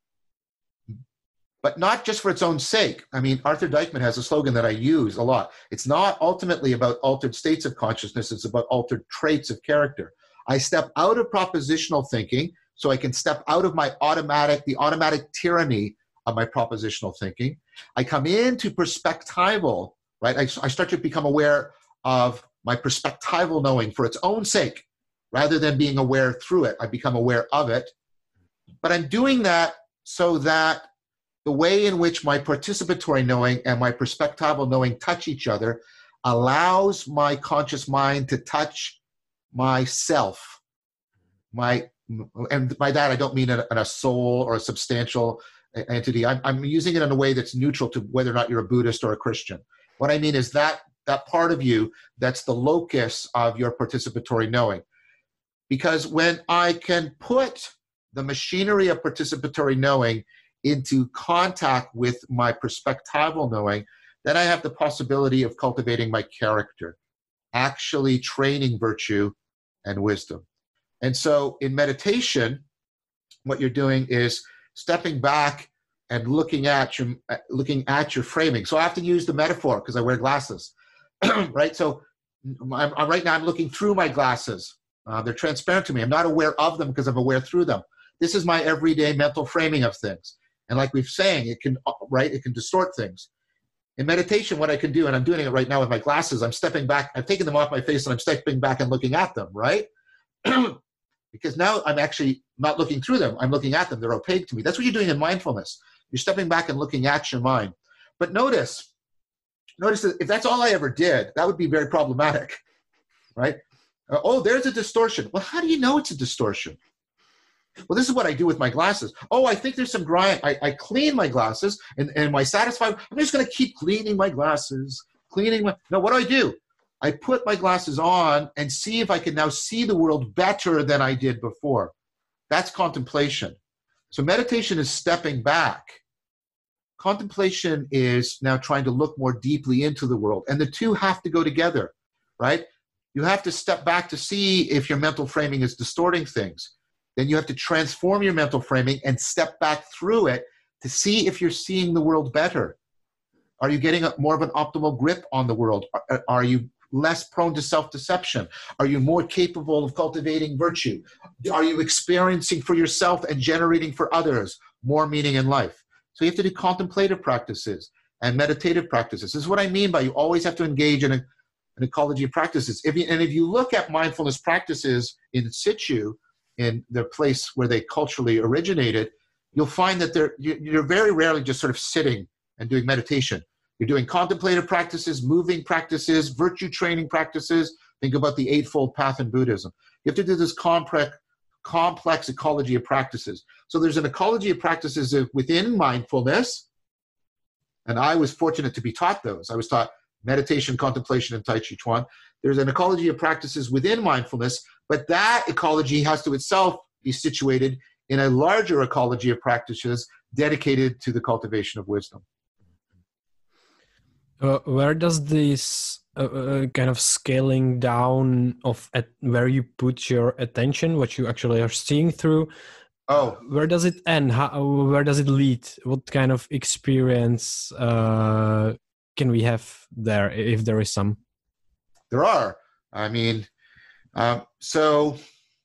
but not just for its own sake. I mean, Arthur Dykman has a slogan that I use a lot. It's not ultimately about altered states of consciousness, it's about altered traits of character. I step out of propositional thinking so I can step out of the automatic tyranny of my propositional thinking. I come into perspectival, right? I start to become aware of my perspectival knowing for its own sake, rather than being aware through it. I become aware of it. But I'm doing that so that the way in which my participatory knowing and my perspectival knowing touch each other allows my conscious mind to touch myself. And by that, I don't mean a soul or a substantial entity. I'm using it in a way that's neutral to whether or not you're a Buddhist or a Christian. What I mean is that part of you that's the locus of your participatory knowing. Because when I can put the machinery of participatory knowing into contact with my perspectival knowing, then I have the possibility of cultivating my character, actually training virtue and wisdom. And so in meditation, what you're doing is stepping back and looking at your framing. So I have to use the metaphor because I wear glasses, right? So right now I'm looking through my glasses. They're transparent to me. I'm not aware of them because I'm aware through them. This is my everyday mental framing of things. And like we've saying, it can distort things. In meditation, what I can do, and I'm doing it right now with my glasses, I'm stepping back, I've taken them off my face and I'm stepping back and looking at them, right? Because now I'm actually not looking through them. I'm looking at them. They're opaque to me. That's what you're doing in mindfulness. You're stepping back and looking at your mind. But notice that if that's all I ever did, that would be very problematic, right? Oh, there's a distortion. Well, how do you know it's a distortion? Well, this is what I do with my glasses. Oh, I think there's some grime. I clean my glasses, and am I satisfied? I'm just going to keep cleaning my glasses, No, what do? I put my glasses on and see if I can now see the world better than I did before. That's contemplation. So meditation is stepping back. Contemplation is now trying to look more deeply into the world. And the two have to go together, right? You have to step back to see if your mental framing is distorting things. Then you have to transform your mental framing and step back through it to see if you're seeing the world better. Are you getting more of an optimal grip on the world? Are you less prone to self-deception? Are you more capable of cultivating virtue? Are you experiencing for yourself and generating for others more meaning in life? So you have to do contemplative practices and meditative practices. This is what I mean by you always have to engage in an ecology of practices. If you look at mindfulness practices in situ, in the place where they culturally originated, you'll find that you're very rarely just sort of sitting and doing meditation. You're doing contemplative practices, moving practices, virtue training practices. Think about the Eightfold Path in Buddhism. You have to do this complex ecology of practices. So there's an ecology of practices within mindfulness, and I was fortunate to be taught those. I was taught meditation, contemplation, and Tai Chi Chuan. There's an ecology of practices within mindfulness, but that ecology has to itself be situated in a larger ecology of practices dedicated to the cultivation of wisdom. Where does this kind of scaling down of where you put your attention, what you actually are seeing through, where does it end? Where does it lead? What kind of experience can we have there, if there is some? There are. I mean, so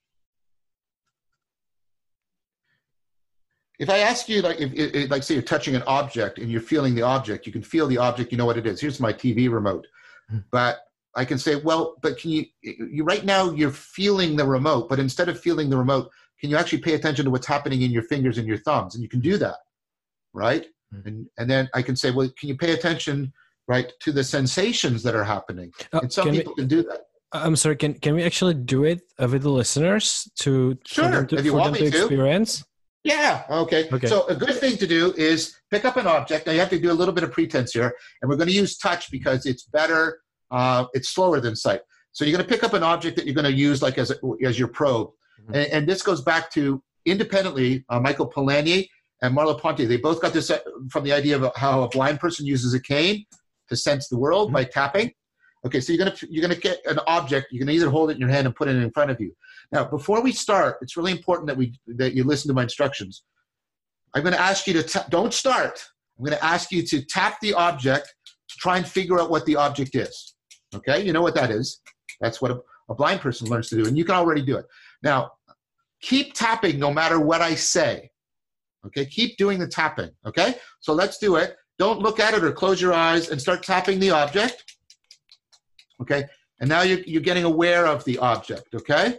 if I ask you, like say you're touching an object and you're feeling the object, you can feel the object, you know what it is. Here's my TV remote. But I can say, well, but can you right now you're feeling the remote, but instead of feeling the remote, can you actually pay attention to what's happening in your fingers and your thumbs? And you can do that, right? And then I can say, well, can you pay attention, right, to the sensations that are happening? And some people can do that. I'm sorry, can we actually do it with the listeners for them to experience? Yeah, okay. So a good thing to do is pick up an object. Now you have to do a little bit of pretense here, and we're going to use touch because it's better, it's slower than sight. So you're going to pick up an object that you're going to use like as your probe. Mm-hmm. And this goes back to independently, Michael Polanyi and Merleau-Ponty. They both got this from the idea of how a blind person uses a cane to sense the world by tapping. Okay, so you're gonna get an object. You can either hold it in your hand and put it in front of you. Now, before we start, it's really important that you listen to my instructions. I'm going to ask you to don't start. I'm going to ask you to tap the object to try and figure out what the object is. Okay, you know what that is. That's what a blind person learns to do, and you can already do it. Now, keep tapping no matter what I say. Okay, keep doing the tapping. Okay, so let's do it. Don't look at it or close your eyes and start tapping the object. Okay, and now you're getting aware of the object, okay?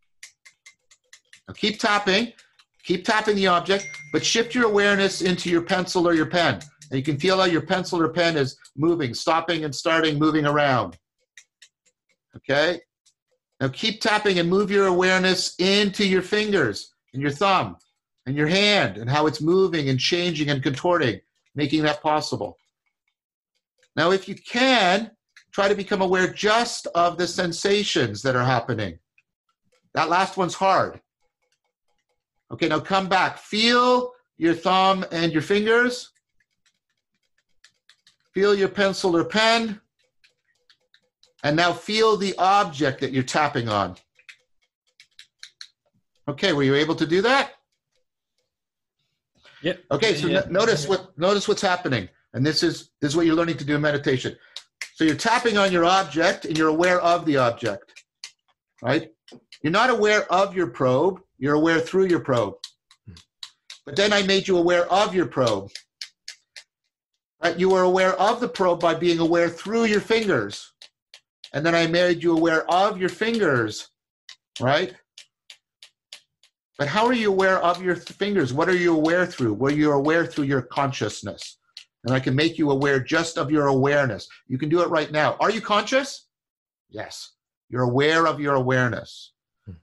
Now keep tapping the object, but shift your awareness into your pencil or your pen. And you can feel how your pencil or pen is moving, stopping and starting, moving around. Okay? Now keep tapping and move your awareness into your fingers and your thumb and your hand and how it's moving and changing and contorting, making that possible. Now if you can, try to become aware just of the sensations that are happening. That last one's hard. Okay, now come back. Feel your thumb and your fingers. Feel your pencil or pen. And now feel the object that you're tapping on. Okay, were you able to do that? Yeah. Okay, so notice what's happening. And this is what you're learning to do in meditation. So you're tapping on your object and you're aware of the object, right? You're not aware of your probe, you're aware through your probe. But then I made you aware of your probe. Right? You were aware of the probe by being aware through your fingers. And then I made you aware of your fingers, right? But how are you aware of your fingers? What are you aware through? Well, you're aware through your consciousness. And I can make you aware just of your awareness. You can do it right now. Are you conscious? Yes. You're aware of your awareness.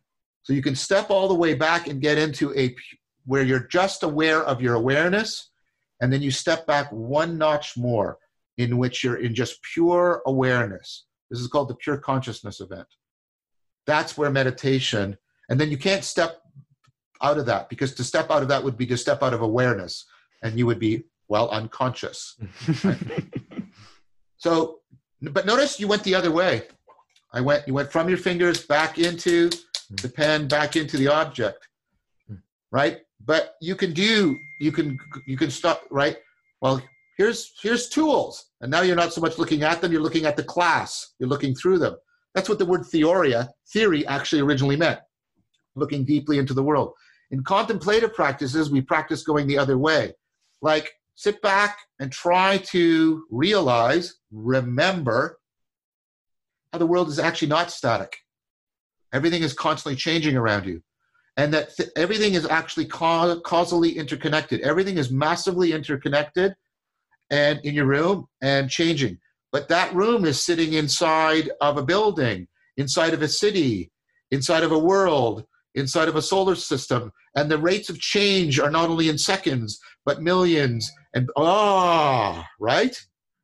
So you can step all the way back and get into where you're just aware of your awareness, and then you step back one notch more in which you're in just pure awareness. This is called the pure consciousness event. That's where meditation, and then you can't step out of that, because to step out of that would be to step out of awareness, and you would be, well, unconscious. Right? So, but notice you went the other way. You went from your fingers back into the pen, back into the object, right? But you can stop, right? Well, here's tools, and now you're not so much looking at them, you're looking at the class, you're looking through them. That's what the word theory actually originally meant, looking deeply into the world. In contemplative practices, we practice going the other way. Like, sit back and try to remember how the world is actually not static. Everything is constantly changing around you. And that everything is actually causally interconnected. Everything is massively interconnected and in your room and changing. But that room is sitting inside of a building, inside of a city, inside of a world, inside of a solar system. And the rates of change are not only in seconds, but millions. And right?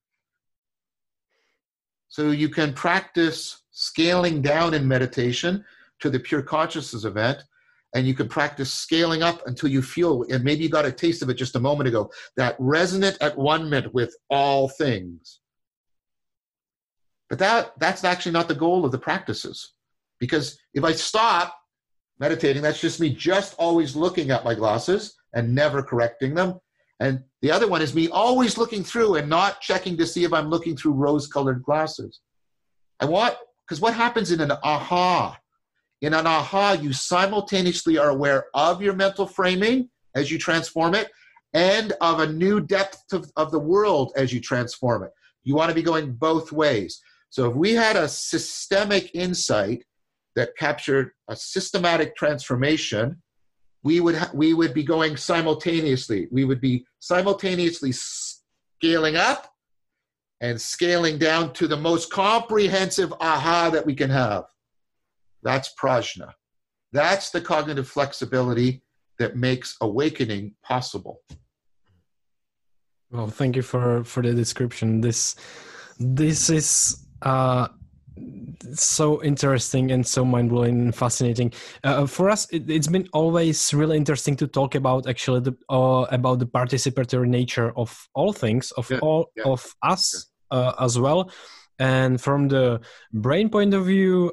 So you can practice scaling down in meditation to the pure consciousness event, and you can practice scaling up until you feel, and maybe you got a taste of it just a moment ago, that resonant at one-ment with all things. But that's actually not the goal of the practices. Because if I stop meditating, that's just me just always looking at my glasses and never correcting them. And the other one is me always looking through and not checking to see if I'm looking through rose-colored glasses. Because what happens in an aha? In an aha, you simultaneously are aware of your mental framing as you transform it, and of a new depth of the world as you transform it. You want to be going both ways. So if we had a systemic insight that captured a systematic transformation, we would be going simultaneously. We would be simultaneously scaling up and scaling down to the most comprehensive aha that we can have. That's prajna. That's the cognitive flexibility that makes awakening possible. Well, thank you for the description. This is so interesting and so mind-blowing and fascinating. For us, it's been always really interesting to talk about actually about the participatory nature of all things, of us as well. And from the brain point of view,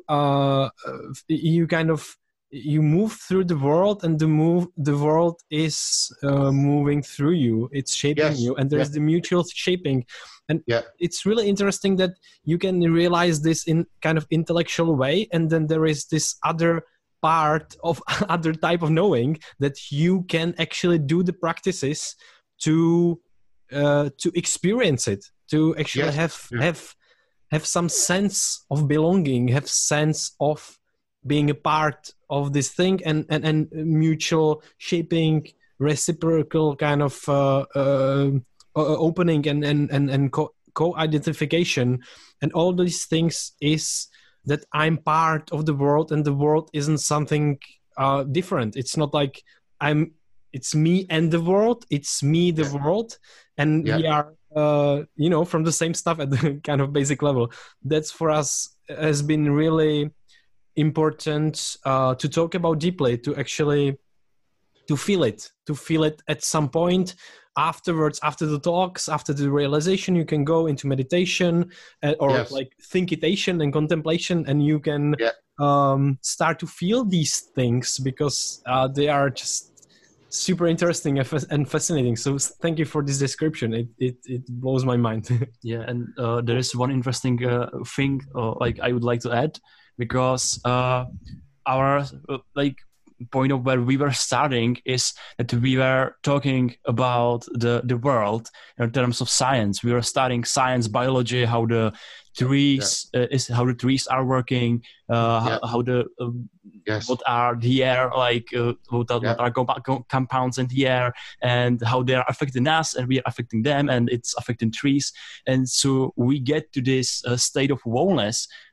you move through the world, and the world is moving through you. It's shaping you, and there's the mutual shaping. And it's really interesting that you can realize this in kind of intellectual way, and then there is this other part of other type of knowing that you can actually do the practices to experience it, to actually have some sense of belonging, have sense of being a part of this thing, and mutual shaping, reciprocal kind of opening and co-identification. And all these things is that I'm part of the world, and the world isn't something different. It's not like it's me and the world, it's me, the world, and we are from the same stuff at the kind of basic level. That's for us has been really important to talk about deeply, to actually to feel it at some point afterwards, after the talks, after the realization. You can go into meditation like thinkitation and contemplation, and you can start to feel these things, because they are just super interesting and fascinating. So thank you for this description. It blows my mind. Yeah, and there is one interesting thing I would like to add, because our point of where we were starting is that we were talking about the world in terms of science. We were studying science, biology, how the trees how the trees are working, how the what are the air what are compounds in the air, and how they are affecting us, and we are affecting them, and it's affecting trees. And so we get to this state of wellness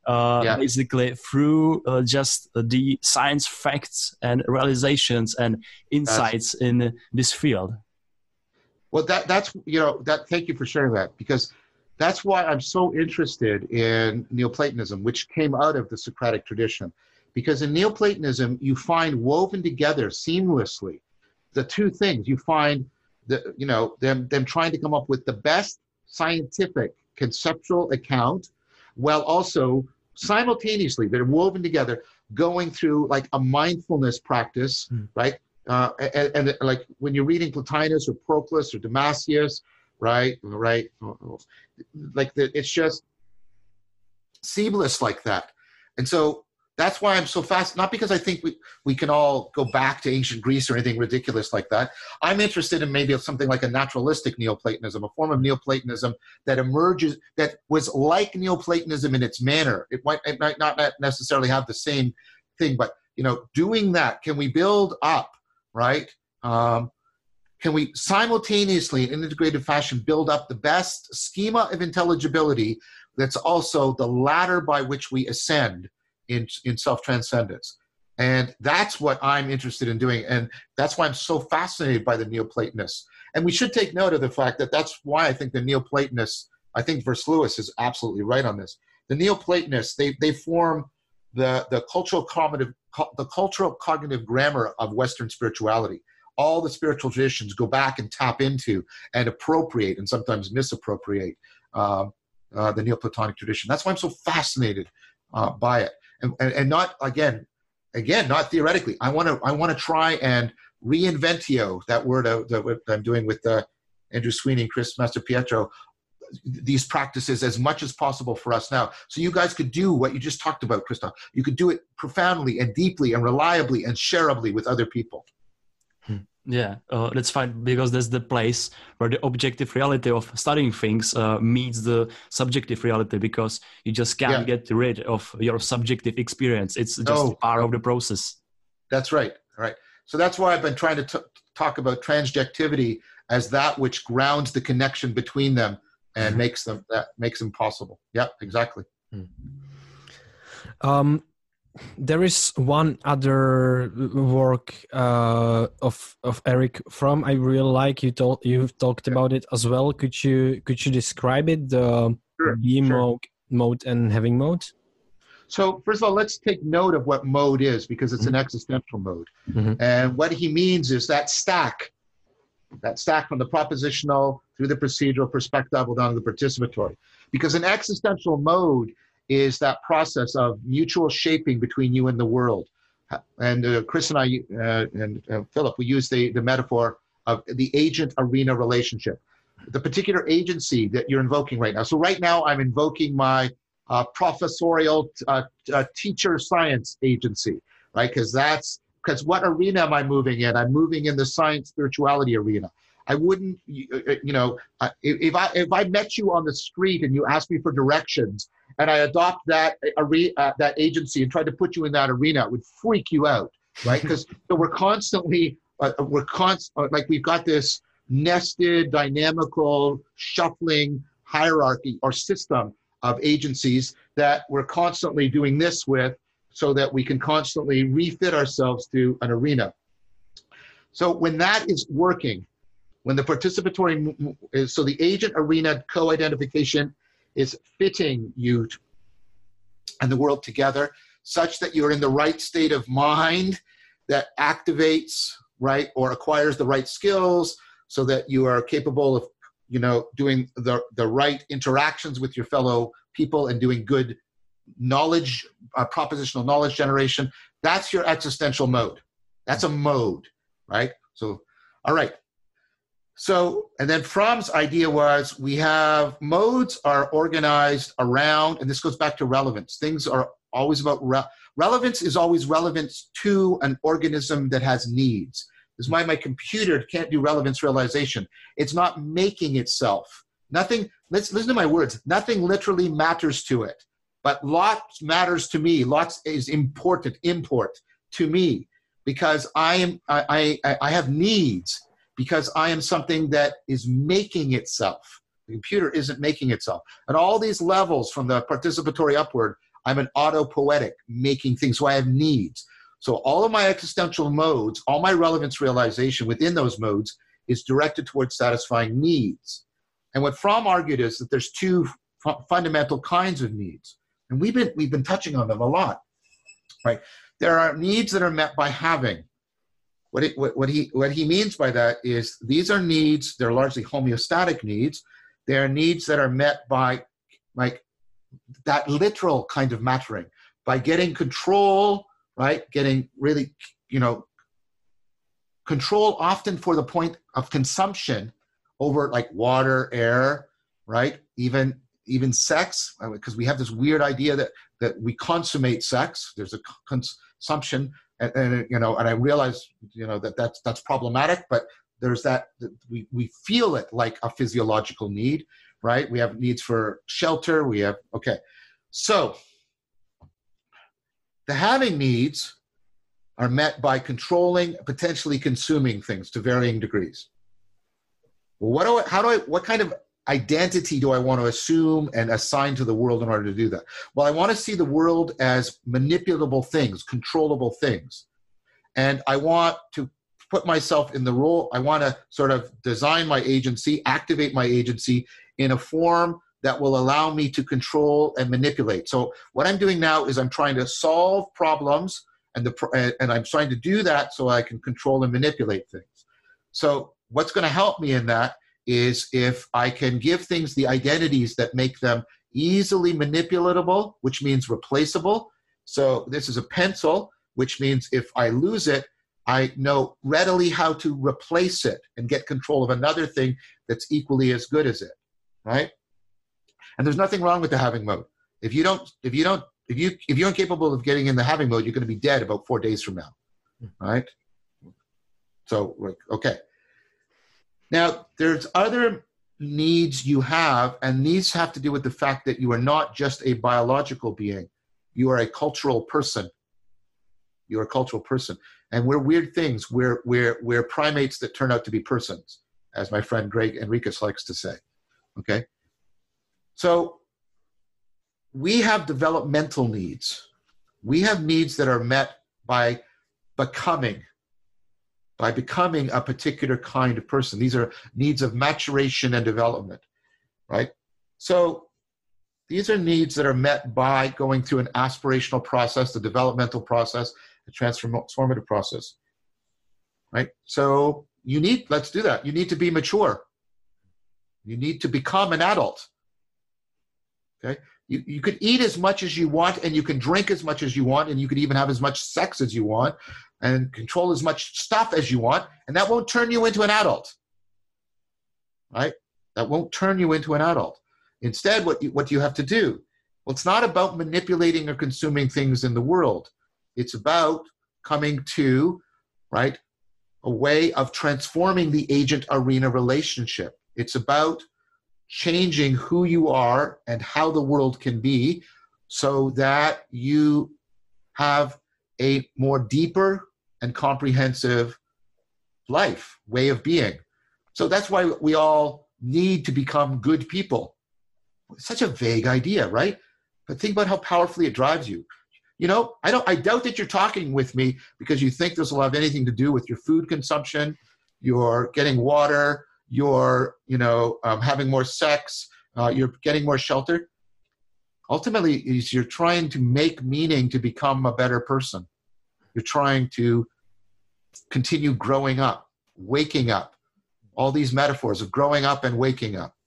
basically through just the science facts and realizations and insights in this field. Well, that's thank you for sharing that, because that's why I'm so interested in Neoplatonism, which came out of the Socratic tradition. Because in Neoplatonism, you find woven together seamlessly the two things. You find them trying to come up with the best scientific conceptual account, while also simultaneously they're woven together, going through like a mindfulness practice, right? And like when you're reading Plotinus or Proclus or Damascius, right, like it's just seamless like that. And so that's why I'm so fast, not because I think we can all go back to ancient Greece or anything ridiculous like that. I'm interested in maybe something like a naturalistic Neoplatonism, a form of Neoplatonism that emerges, that was like Neoplatonism in its manner. It might not necessarily have the same thing, but doing that, can we build up, right? Can we simultaneously, in an integrated fashion, build up the best schema of intelligibility that's also the ladder by which we ascend in self-transcendence? And that's what I'm interested in doing. And that's why I'm so fascinated by the Neoplatonists. And we should take note of the fact that that's why I think the Neoplatonists, I think Versluis is absolutely right on this. The Neoplatonists, they form the cultural cognitive grammar of Western spirituality. All the spiritual traditions go back and tap into and appropriate and sometimes misappropriate the Neoplatonic tradition. That's why I'm so fascinated by it. And not again, not theoretically. I want to try and reinventio, that word that I'm doing with Andrew Sweeney and Chris Mastropietro, these practices as much as possible for us now. So you guys could do what you just talked about, Christoph. You could do it profoundly and deeply and reliably and shareably with other people. Yeah, that's fine, because that's the place where the objective reality of studying things meets the subjective reality, because you just can't get rid of your subjective experience. It's just part of the process. That's right. Right. So that's why I've been trying to talk about transjectivity as that which grounds the connection between them and makes them possible. Yeah, exactly. There is one other work of Eric Fromm I really like. You've talked about it as well. Could you describe it? The being mode and having mode. So first of all, let's take note of what mode is, because it's an existential mode. And what he means is that stack from the propositional through the procedural, perspectival down to the participatory. Because an existential mode is that process of mutual shaping between you and the world. And Chris and I and Philip, we use the metaphor of the agent-arena relationship. The particular agency that you're invoking right now. So right now I'm invoking my professorial teacher science agency, right? Because what arena am I moving in? I'm moving in the science spirituality arena. I wouldn't, if I met you on the street and you asked me for directions and I adopt that agency and try to put you in that arena, it would freak you out, right? Because we're constantly, like we've got this nested, dynamical, shuffling hierarchy or system of agencies that we're constantly doing this with, so that we can constantly refit ourselves to an arena. So when that is working, when the participatory is, so the agent arena co-identification is fitting you and the world together such that you're in the right state of mind that activates, right, or acquires the right skills so that you are capable of, doing the right interactions with your fellow people and doing good knowledge, propositional knowledge generation. That's your existential mode. That's a mode, right? So, all right. So, and then Fromm's idea was we have modes are organized around, and this goes back to relevance. Things are always about, relevance is always relevance to an organism that has needs. This is why my computer can't do relevance realization. It's not making itself. Nothing, listen to my words, nothing literally matters to it, but lots matters to me. Lots is important, import to me, because I have needs, because I am something that is making itself. The computer isn't making itself. At all these levels from the participatory upward, I'm an autopoietic, making things. So I have needs. So all of my existential modes, all my relevance realization within those modes is directed towards satisfying needs. And what Fromm argued is that there's two fundamental kinds of needs. And we've been touching on them a lot, right? There are needs that are met by having. What he means by that is these are needs, they're largely homeostatic needs. They are needs that are met by like that literal kind of mattering, by getting control, right? Getting really, control often for the point of consumption over like water, air, right? Even sex, because we have this weird idea that we consummate sex. There's a consumption, and I realize that's problematic, but there's that we feel it like a physiological need, right? We have needs for shelter. So the having needs are met by controlling, potentially consuming things to varying degrees. Well, what kind of identity do I want to assume and assign to the world in order to do that? Well, I want to see the world as manipulable things, controllable things. And I want to put myself in the role, I want to sort of design my agency, activate my agency in a form that will allow me to control and manipulate. So what I'm doing now is I'm trying to solve problems, and I'm trying to do that so I can control and manipulate things. So what's going to help me in that is if I can give things the identities that make them easily manipulatable, which means replaceable. So this is a pencil, which means if I lose it, I know readily how to replace it and get control of another thing that's equally as good as it, right? And there's nothing wrong with the having mode. If you're incapable of getting in the having mode, you're going to be dead about 4 days from now, right? So, okay. Now, there's other needs you have, and these have to do with the fact that you are not just a biological being. You are a cultural person. You're a cultural person. And we're weird things. We're primates that turn out to be persons, as my friend Greg Enriquez likes to say, okay? So we have developmental needs. We have needs that are met by becoming a particular kind of person. These are needs of maturation and development, right? So these are needs that are met by going through an aspirational process, the developmental process, the transformative process, right? So let's do that. You need to be mature. You need to become an adult, okay? You could eat as much as you want, and you can drink as much as you want, and you could even have as much sex as you want, and control as much stuff as you want, and that won't turn you into an adult, right? That won't turn you into an adult. Instead, what do you have to do? Well, it's not about manipulating or consuming things in the world. It's about coming to, right, a way of transforming the agent-arena relationship. It's about changing who you are and how the world can be so that you have a more deeper and comprehensive life, way of being. So that's why we all need to become good people. It's such a vague idea, right? But think about how powerfully it drives you. I doubt that you're talking with me because you think this will have anything to do with your food consumption, your getting water, your, having more sex, you're getting more shelter. Ultimately, you're trying to make meaning to become a better person. You're trying to continue growing up, waking up. All these metaphors of growing up and waking up.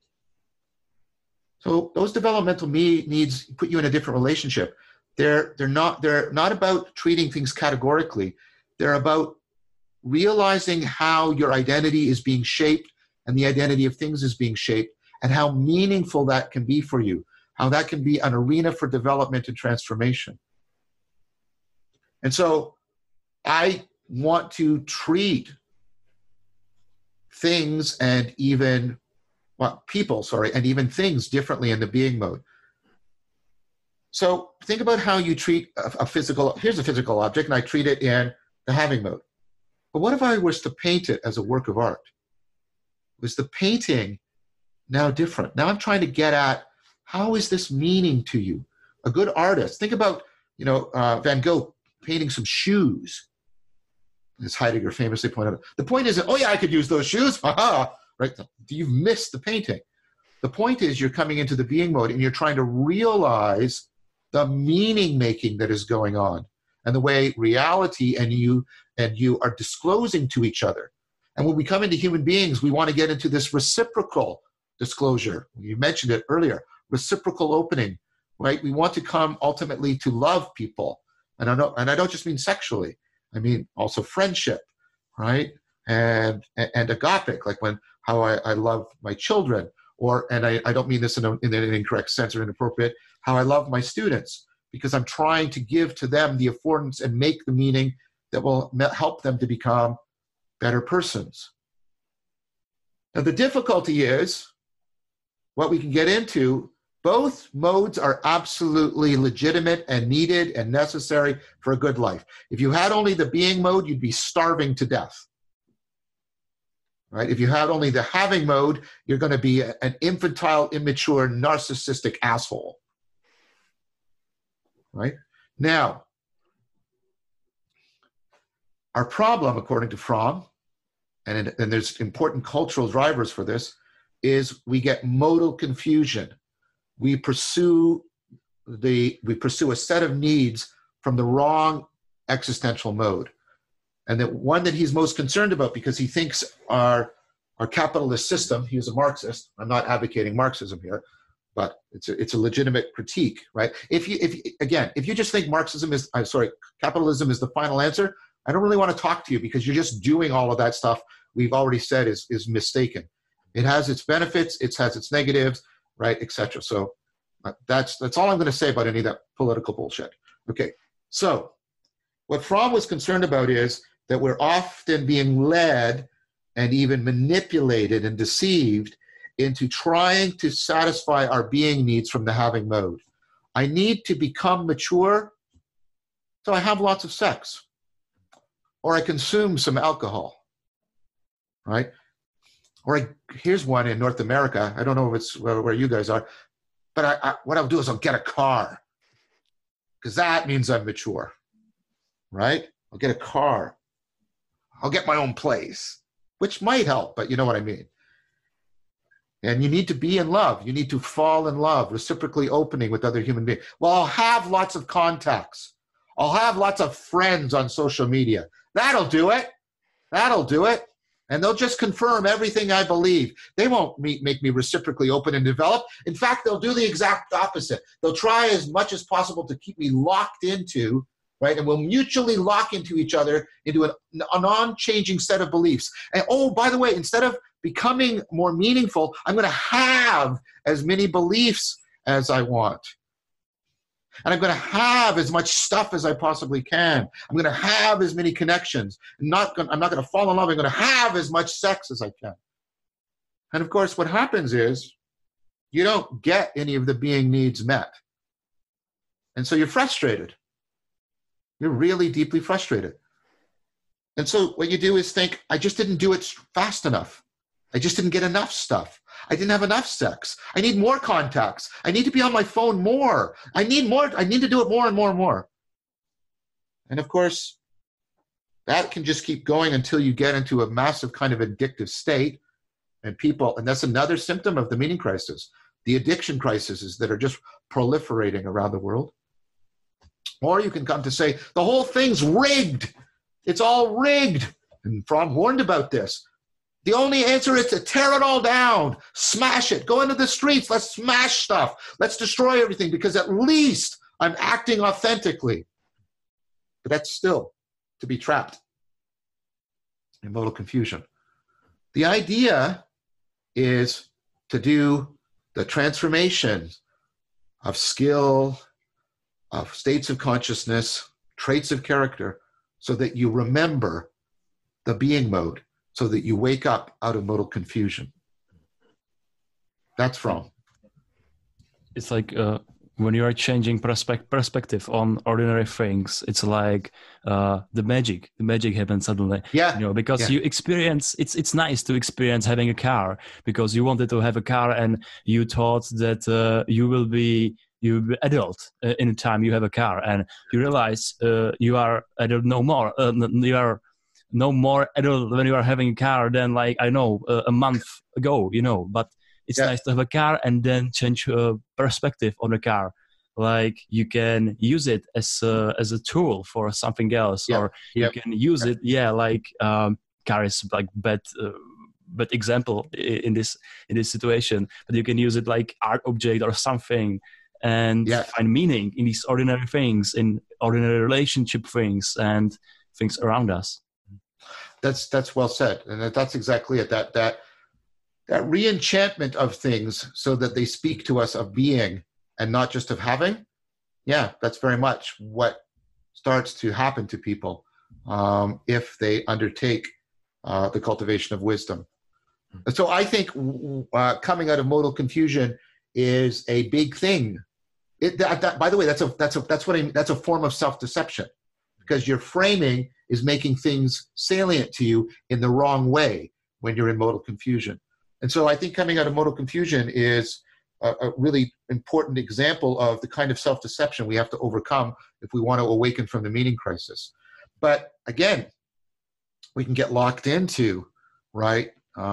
So those developmental needs put you in a different relationship. They're not about treating things categorically. They're about realizing how your identity is being shaped and the identity of things is being shaped, and how meaningful that can be for you, how that can be an arena for development and transformation. And so I want to treat things and even things differently in the being mode. So think about how you treat here's a physical object, and I treat it in the having mode. But what if I was to paint it as a work of art? Was the painting now different? Now I'm trying to get at, how is this meaning to you? A good artist. Think about, Van Gogh painting some shoes, as Heidegger famously pointed out. The point isn't, oh yeah, I could use those shoes. Haha, right? You've missed the painting. The point is you're coming into the being mode and you're trying to realize the meaning making that is going on and the way reality and you are disclosing to each other. And when we come into human beings, we want to get into this reciprocal disclosure. You mentioned it earlier, reciprocal opening, right? We want to come ultimately to love people. And I don't just mean sexually. I mean also friendship, right? And agapic, like how I love my children, and I don't mean this in an incorrect sense or inappropriate, how I love my students, because I'm trying to give to them the affordance and make the meaning that will help them to become better persons. Now the difficulty is, what we can get into, both modes are absolutely legitimate and needed and necessary for a good life. If you had only the being mode, you'd be starving to death. Right? If you had only the having mode, you're going to be an infantile, immature, narcissistic asshole. Right? Now, our problem, according to Fromm, and there's important cultural drivers for this, is we get modal confusion. We pursue a set of needs from the wrong existential mode. And the one that he's most concerned about, because he thinks our capitalist system, he was a Marxist, I'm not advocating Marxism here, but it's a legitimate critique, right? If you just think capitalism is the final answer, I don't really want to talk to you, because you're just doing all of that stuff we've already said is mistaken. It has its benefits, it has its negatives, right, etc. So that's all I'm going to say about any of that political bullshit. Okay, so what Fromm was concerned about is that we're often being led and even manipulated and deceived into trying to satisfy our being needs from the having mode. I need to become mature, so I have lots of sex, or I consume some alcohol, right? Or here's one in North America. I don't know if it's where you guys are, but what I'll do is I'll get a car, because that means I'm mature, right? I'll get a car. I'll get my own place, which might help, but you know what I mean. And you need to be in love. You need to fall in love, reciprocally opening with other human beings. Well, I'll have lots of contacts. I'll have lots of friends on social media. That'll do it. That'll do it. And they'll just confirm everything I believe. They won't make me reciprocally open and develop. In fact, they'll do the exact opposite. They'll try as much as possible to keep me locked into, right? And we'll mutually lock into each other into a non-changing set of beliefs. And oh, by the way, instead of becoming more meaningful, I'm going to have as many beliefs as I want. And I'm going to have as much stuff as I possibly can. I'm going to have as many connections. I'm not going to fall in love. I'm going to have as much sex as I can. And of course, what happens is you don't get any of the being needs met. And so you're frustrated. You're really deeply frustrated. And so what you do is think, I just didn't do it fast enough. I just didn't get enough stuff. I didn't have enough sex. I need more contacts. I need to be on my phone more. I need more. I need to do it more and more and more. And of course, that can just keep going until you get into a massive kind of addictive state. And that's another symptom of the meaning crisis, the addiction crises that are just proliferating around the world. Or you can come to say, the whole thing's rigged. It's all rigged. And Fromm warned about this. The only answer is to tear it all down, smash it, go into the streets, let's smash stuff, let's destroy everything, because at least I'm acting authentically. But that's still to be trapped in modal confusion. The idea is to do the transformation of skill, of states of consciousness, traits of character, so that you remember the being mode, so that you wake up out of modal confusion. That's Fromm. It's like when you are changing perspective on ordinary things, it's like the magic happens suddenly. Yeah. Because you experience, it's nice to experience having a car, because you wanted to have a car and you thought that you will be you be adult in the time you have a car, and you realize you are adult no more. You are no more adult when you are having a car than like I know a month ago. But it's nice to have a car and then change perspective on the car. Like you can use it as a tool for something else, or you can use it. Yeah, like car is like bad example in this situation, but you can use it like art object or something, and find meaning in these ordinary things, in ordinary relationship things and things around us. That's well said, and that's exactly it. That re-enchantment of things, so that they speak to us of being and not just of having. Yeah, that's very much what starts to happen to people if they undertake the cultivation of wisdom. So I think coming out of modal confusion is a big thing. By the way, that's a form of self-deception, because your framing is making things salient to you in the wrong way when you're in modal confusion. And so I think coming out of modal confusion is a really important example of the kind of self-deception we have to overcome if we want to awaken from the meaning crisis. But again, we can get locked into, right,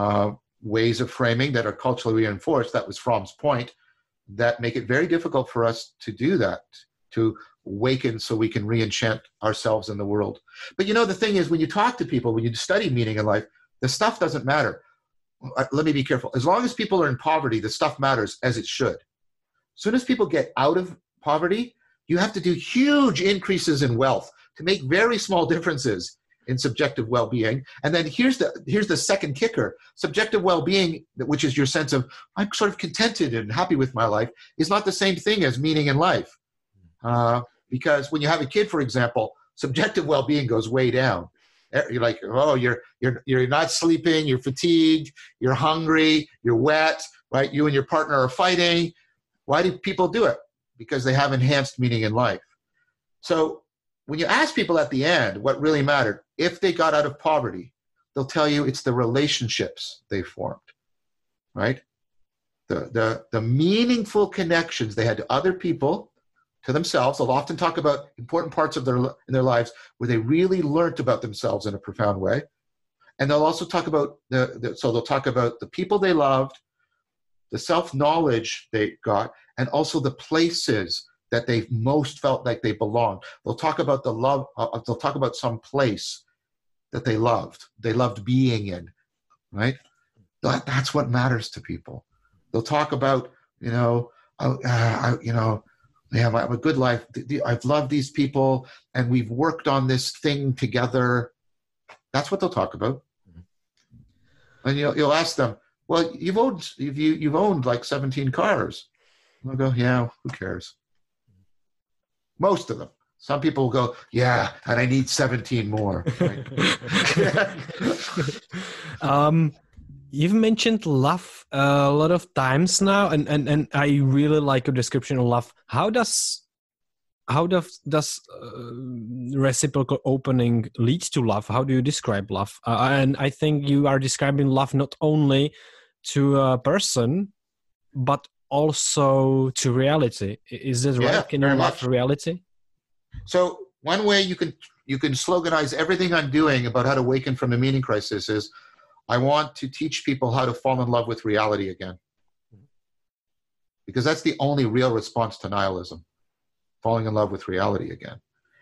ways of framing that are culturally reinforced. That was Fromm's point, that make it very difficult for us to do that, to awaken so we can re-enchant ourselves in the world. But the thing is, when you talk to people, when you study meaning in life, the stuff doesn't matter. Let me be careful. As long as people are in poverty, the stuff matters, as it should. As soon as people get out of poverty, you have to do huge increases in wealth to make very small differences in subjective well-being. And then here's the second kicker. Subjective well-being, which is your sense of, I'm sort of contented and happy with my life, is not the same thing as meaning in life. Because when you have a kid, for example, subjective well-being goes way down. You're like, oh, you're not sleeping, you're fatigued, you're hungry, you're wet, right? You and your partner are fighting. Why do people do it? Because they have enhanced meaning in life. So when you ask people at the end what really mattered, if they got out of poverty, they'll tell you it's the relationships they formed, right? The meaningful connections they had to other people, to themselves. They'll often talk about important parts of in their lives where they really learned about themselves in a profound way. And they'll also talk about so they'll talk about the people they loved, the self-knowledge they got, and also the places that they most felt like they belonged. They'll talk about the love, they'll talk about some place that they loved being in, right? That's what matters to people. They'll talk about, I have a good life. I've loved these people, and we've worked on this thing together. That's what they'll talk about. And you'll ask them, well, you've owned like 17 cars. They'll go, yeah, who cares? Most of them. Some people will go, yeah, and I need 17 more. Right? You've mentioned love a lot of times now, and I really like your description of love. How does reciprocal opening lead to love? How do you describe love? And I think you are describing love not only to a person, but also to reality. Is that right? Can you love reality? So one way you can sloganize everything I'm doing about how to awaken from the meaning crisis is, I want to teach people how to fall in love with reality again. Because that's the only real response to nihilism, falling in love with reality again.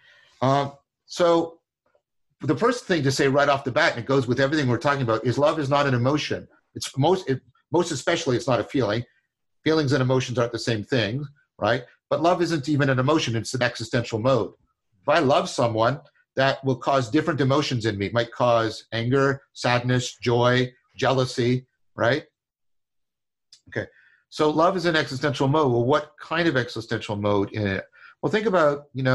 So the first thing to say right off the bat, and it goes with everything we're talking about, is love is not an emotion. It's most especially, it's not a feeling. Feelings and emotions aren't the same thing, right? But love isn't even an emotion, it's an existential mode. If I love someone, that will cause different emotions in me. It might cause anger, sadness, joy, jealousy, right? Okay, so love is an existential mode. Well, what kind of existential mode in it? Well, think about, we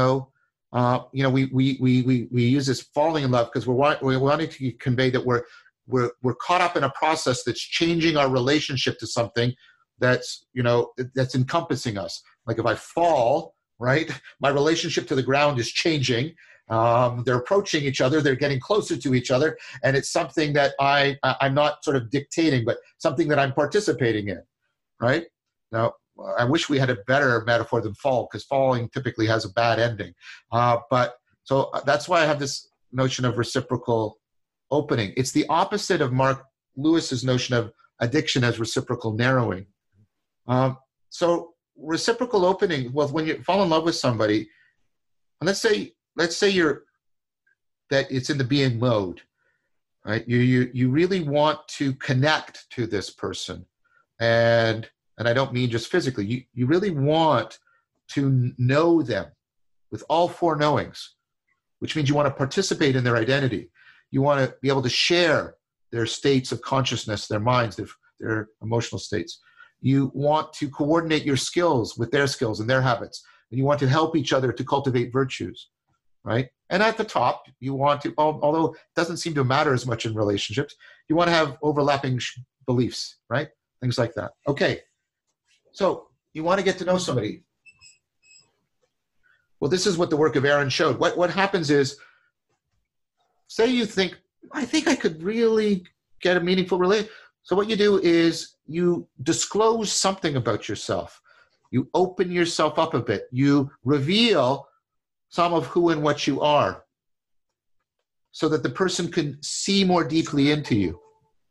use this falling in love because we're wanting to convey that we're caught up in a process that's changing our relationship to something that's encompassing us. Like if I fall, right, my relationship to the ground is changing. They're approaching each other, they're getting closer to each other, and it's something that I'm not sort of dictating, but something that I'm participating in, right? Now, I wish we had a better metaphor than fall, because falling typically has a bad ending. But so that's why I have this notion of reciprocal opening. It's the opposite of Mark Lewis's notion of addiction as reciprocal narrowing. So reciprocal opening, well, when you fall in love with somebody, and let's say that it's in the being mode, right? You really want to connect to this person, and I don't mean just physically. You really want to know them with all four knowings, which means you want to participate in their identity. You want to be able to share their states of consciousness, their minds, their emotional states. You want to coordinate your skills with their skills and their habits. And you want to help each other to cultivate virtues, right? And at the top, you want to, although it doesn't seem to matter as much in relationships, you want to have overlapping beliefs, right? Things like that. Okay, so you want to get to know somebody. Well, this is what the work of Aaron showed. What happens is, say you think, I think I could really get a meaningful relationship. So what you do is you disclose something about yourself. You open yourself up a bit. You reveal some of who and what you are so that the person can see more deeply into you.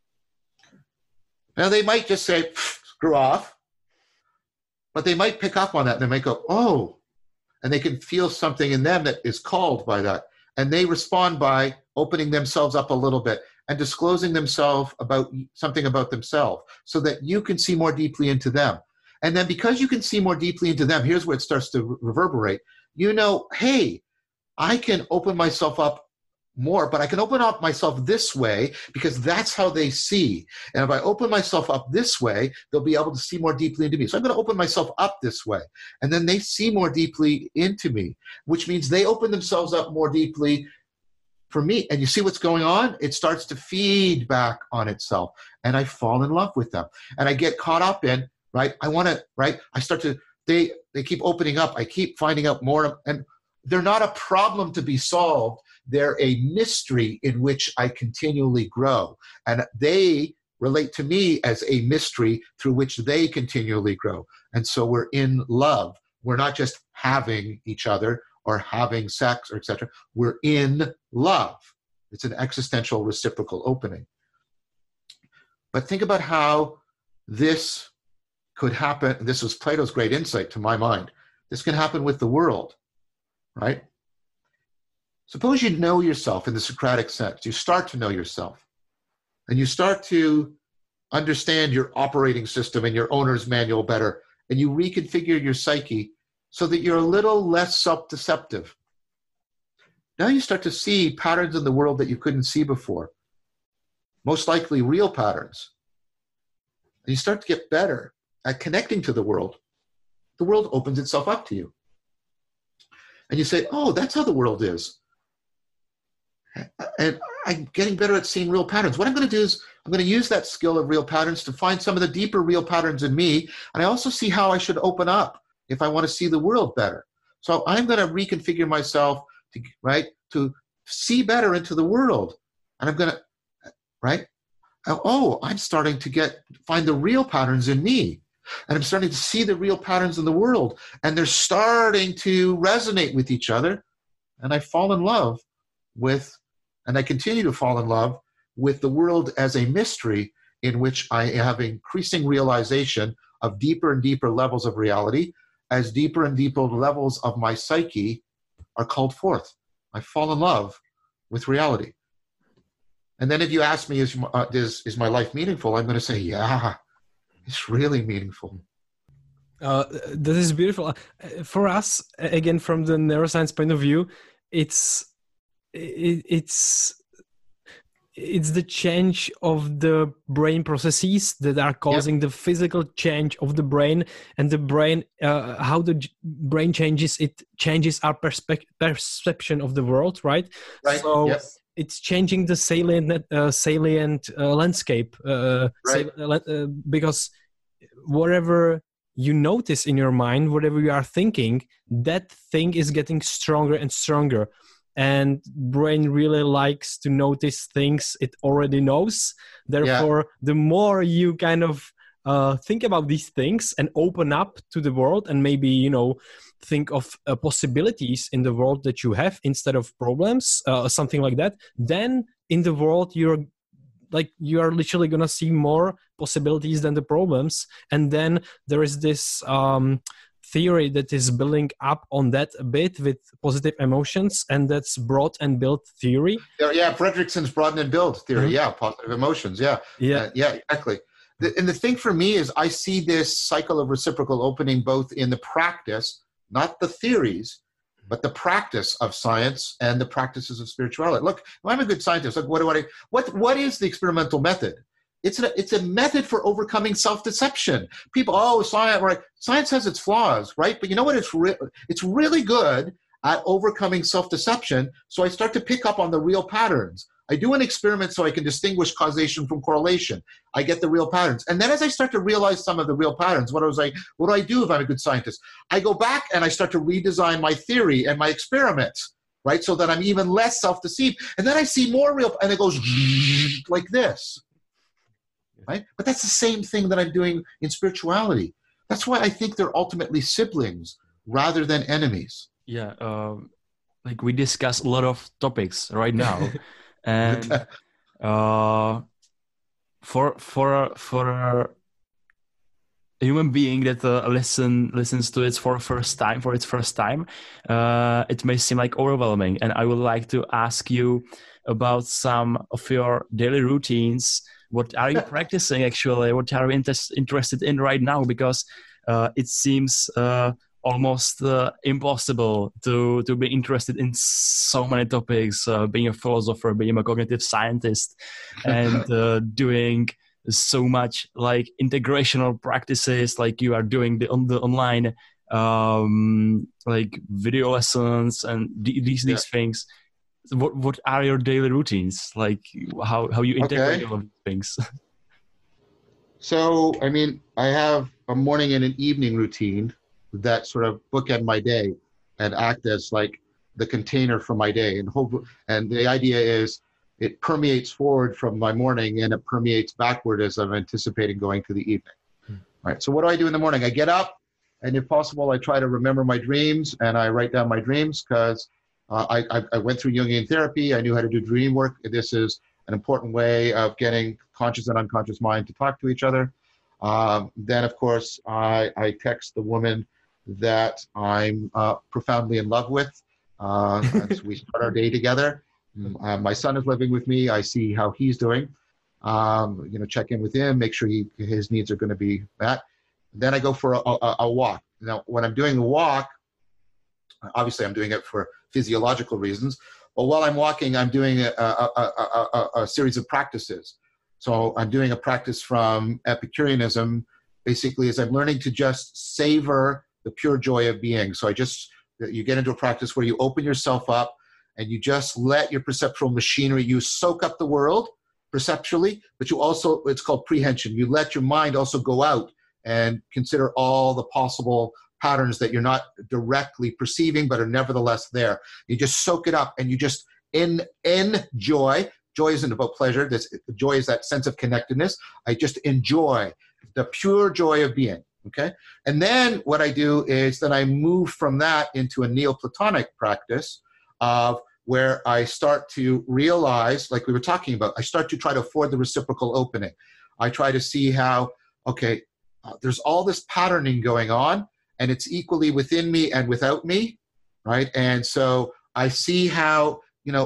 Now, they might just say, screw off, but they might pick up on that and they might go, oh, and they can feel something in them that is called by that. And they respond by opening themselves up a little bit and disclosing themselves about something about themselves so that you can see more deeply into them. And then because you can see more deeply into them, here's where it starts to reverberate. You know, hey, I can open myself up more, but I can open up myself this way because that's how they see. And if I open myself up this way, they'll be able to see more deeply into me. So I'm going to open myself up this way. And then they see more deeply into me, which means they open themselves up more deeply for me. And you see what's going on? It starts to feed back on itself. And I fall in love with them. And I get caught up in, right? I want to, right? I start to, they keep opening up. I keep finding out more. And they're not a problem to be solved. They're a mystery in which I continually grow. And they relate to me as a mystery through which they continually grow. And so we're in love. We're not just having each other or having sex or etc. We're in love. It's an existential reciprocal opening. But think about how this could happen. This was Plato's great insight to my mind. This can happen with the world, right? Suppose you know yourself in the Socratic sense. You start to know yourself. And you start to understand your operating system and your owner's manual better. And you reconfigure your psyche so that you're a little less self-deceptive. Now you start to see patterns in the world that you couldn't see before. Most likely real patterns. And you start to get better at connecting to the world. The world opens itself up to you. And you say, oh, that's how the world is. And I'm getting better at seeing real patterns. What I'm going to do is I'm going to use that skill of real patterns to find some of the deeper real patterns in me. And I also see how I should open up if I want to see the world better. So I'm going to reconfigure myself to, right, to see better into the world. And I'm going to, right? Oh, I'm starting to find the real patterns in me. And I'm starting to see the real patterns in the world. And they're starting to resonate with each other. And I fall in love with, and I continue to fall in love with the world as a mystery in which I have increasing realization of deeper and deeper levels of reality as deeper and deeper levels of my psyche are called forth. I fall in love with reality. And then if you ask me, is my life meaningful? I'm going to say, yeah, it's really meaningful. That is beautiful. For us, again, from the neuroscience point of view, it's the change of the brain processes that are causing the physical change of the brain, and the brain, how the brain changes, it changes our perception of the world, right? Right. So it's changing the salient landscape, because whatever you notice in your mind, whatever you are thinking, that thing is getting stronger and stronger. And brain really likes to notice things it already knows. Therefore, the more you kind of think about these things and open up to the world, and maybe, you know, think of possibilities in the world that you have instead of problems, something like that, then in the world you are literally gonna see more possibilities than the problems. And then there is this theory that is building up on that a bit with positive emotions, and that's brought and built theory. Yeah, Fredrickson's broaden and build theory. Yeah, positive emotions. Yeah, exactly. And the thing for me is I see this cycle of reciprocal opening both in the practice, not the theories, but the practice of science and the practices of spirituality. Look, if I'm a good scientist, look, what is the experimental method? It's a method for overcoming self-deception. People, science, right? Science has its flaws, right? But you know what? It's really good at overcoming self-deception. So I start to pick up on the real patterns. I do an experiment so I can distinguish causation from correlation. I get the real patterns. And then as I start to realize some of the real patterns, what do I do if I'm a good scientist? I go back and I start to redesign my theory and my experiments, right? So that I'm even less self-deceived. And then I see more real, and it goes like this, right? But that's the same thing that I'm doing in spirituality. That's why I think they're ultimately siblings rather than enemies. Yeah, like we discuss a lot of topics right now. And for a human being that listens to it for its first time, it may seem like overwhelming. And I would like to ask you about some of your daily routines. What are you practicing actually? What are you interested in right now? Because it seems almost impossible to be interested in so many topics, being a philosopher, being a cognitive scientist, and doing so much like integrational practices like you are doing on the online like video lessons and these things. What are your daily routines? Like how you integrate all of these things? So, I mean, I have a morning and an evening routine that sort of bookend my day and act as like the container for my day. And the idea is it permeates forward from my morning and it permeates backward as I'm anticipating going to the evening. Right. So what do I do in the morning? I get up, and if possible, I try to remember my dreams and I write down my dreams because I went through Jungian therapy. I knew how to do dream work. This is an important way of getting conscious and unconscious mind to talk to each other. Then, of course, I text the woman that I'm profoundly in love with. As we start our day together. My son is living with me. I see how he's doing. Check in with him, make sure his needs are going to be met. Then I go for a walk. Now, when I'm doing the walk, obviously I'm doing it for physiological reasons. But while I'm walking, I'm doing a series of practices. So I'm doing a practice from Epicureanism, basically, as I'm learning to just savor the pure joy of being. So you get into a practice where you open yourself up and you just let your perceptual machinery, you soak up the world perceptually, but you also, it's called prehension. You let your mind also go out and consider all the possible patterns that you're not directly perceiving, but are nevertheless there. You just soak it up and you just enjoy. Joy isn't about pleasure. Joy is that sense of connectedness. I just enjoy the pure joy of being. Okay. And then what I do is then I move from that into a Neoplatonic practice of where I start to realize, like we were talking about, I start to try to afford the reciprocal opening. I try to see how, there's all this patterning going on and it's equally within me and without me, right? And so I see how,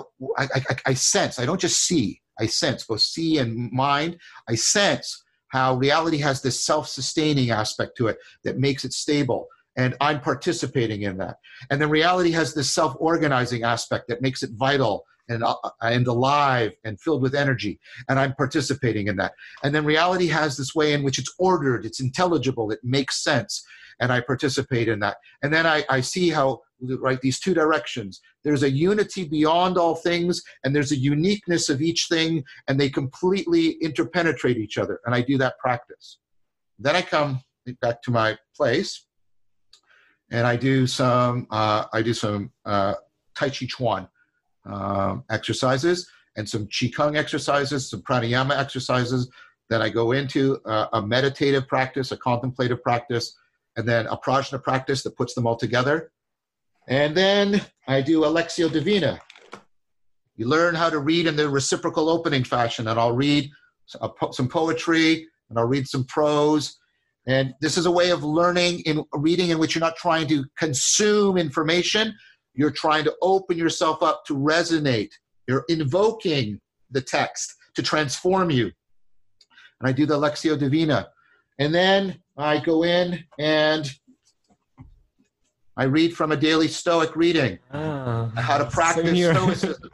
I sense, I don't just see, I sense, both see and mind. I sense how reality has this self-sustaining aspect to it that makes it stable. And I'm participating in that. And then reality has this self-organizing aspect that makes it vital and alive and filled with energy. And I'm participating in that. And then reality has this way in which it's ordered, it's intelligible, it makes sense. And I participate in that. And then I see how, right, these two directions. There's a unity beyond all things, and there's a uniqueness of each thing, and they completely interpenetrate each other. And I do that practice. Then I come back to my place, and I do some Tai Chi Chuan exercises, and some Qigong exercises, some pranayama exercises, Then I go into a meditative practice, a contemplative practice, and then a prajna practice that puts them all together. And then I do a Lectio Divina. You learn how to read in the reciprocal opening fashion, and I'll read some poetry, and I'll read some prose. And this is a way of learning in reading in which you're not trying to consume information. You're trying to open yourself up to resonate. You're invoking the text to transform you. And I do the Lectio Divina. And then I go in and I read from a daily Stoic reading, how to practice Stoicism.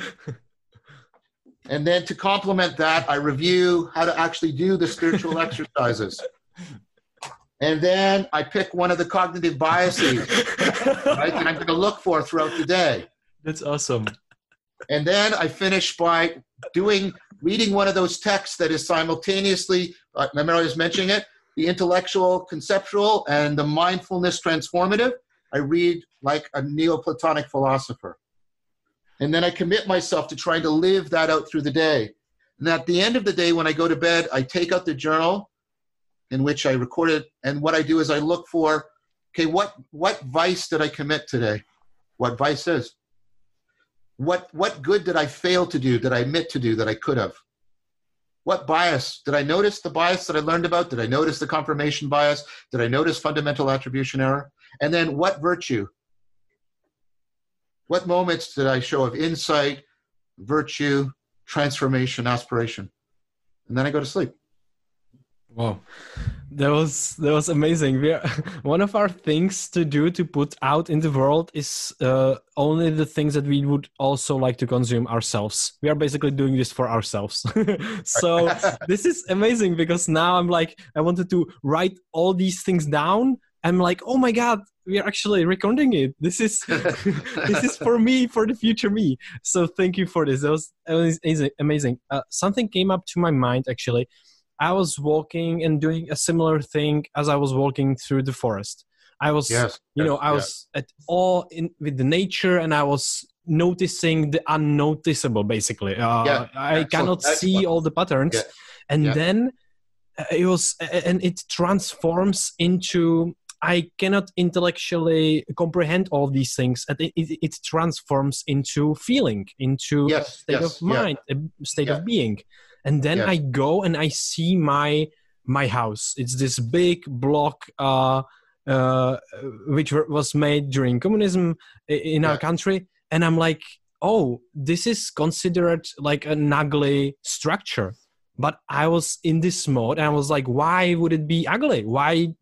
And then to complement that, I review how to actually do the spiritual exercises. And then I pick one of the cognitive biases, right, that I'm going to look for throughout the day. That's awesome. And then I finish by reading one of those texts that is simultaneously, remember I was mentioning it, the intellectual, conceptual, and the mindfulness transformative. I read like a Neoplatonic philosopher. And then I commit myself to trying to live that out through the day. And at the end of the day, when I go to bed, I take out the journal in which I recorded. And what I do is I look for, okay, what vice did I commit today? What vice is? What good did I fail to do, that I admit to do, that I could have? What bias? Did I notice the bias that I learned about? Did I notice the confirmation bias? Did I notice fundamental attribution error? And then what virtue? What moments did I show of insight, virtue, transformation, aspiration? And then I go to sleep. Wow, that was amazing. One of our things to do to put out in the world is only the things that we would also like to consume ourselves. We are basically doing this for ourselves. So this is amazing because now I'm like, I wanted to write all these things down. I'm like, oh my God, we are actually recording it. This is this is for me, for the future me. So thank you for this. That was amazing. Something came up to my mind actually. I was walking and doing a similar thing as I was walking through the forest. I was, I was at awe with the nature, and I was noticing the unnoticeable, basically. I cannot see all the patterns. Yeah. And then it transforms into, I cannot intellectually comprehend all these things. And it transforms into feeling, into a state of mind, a state of being. And then I go and I see my house. It's this big block which was made during communism in our country. And I'm like, oh, this is considered like an ugly structure. But I was in this mode and I was like, why would it be ugly? Why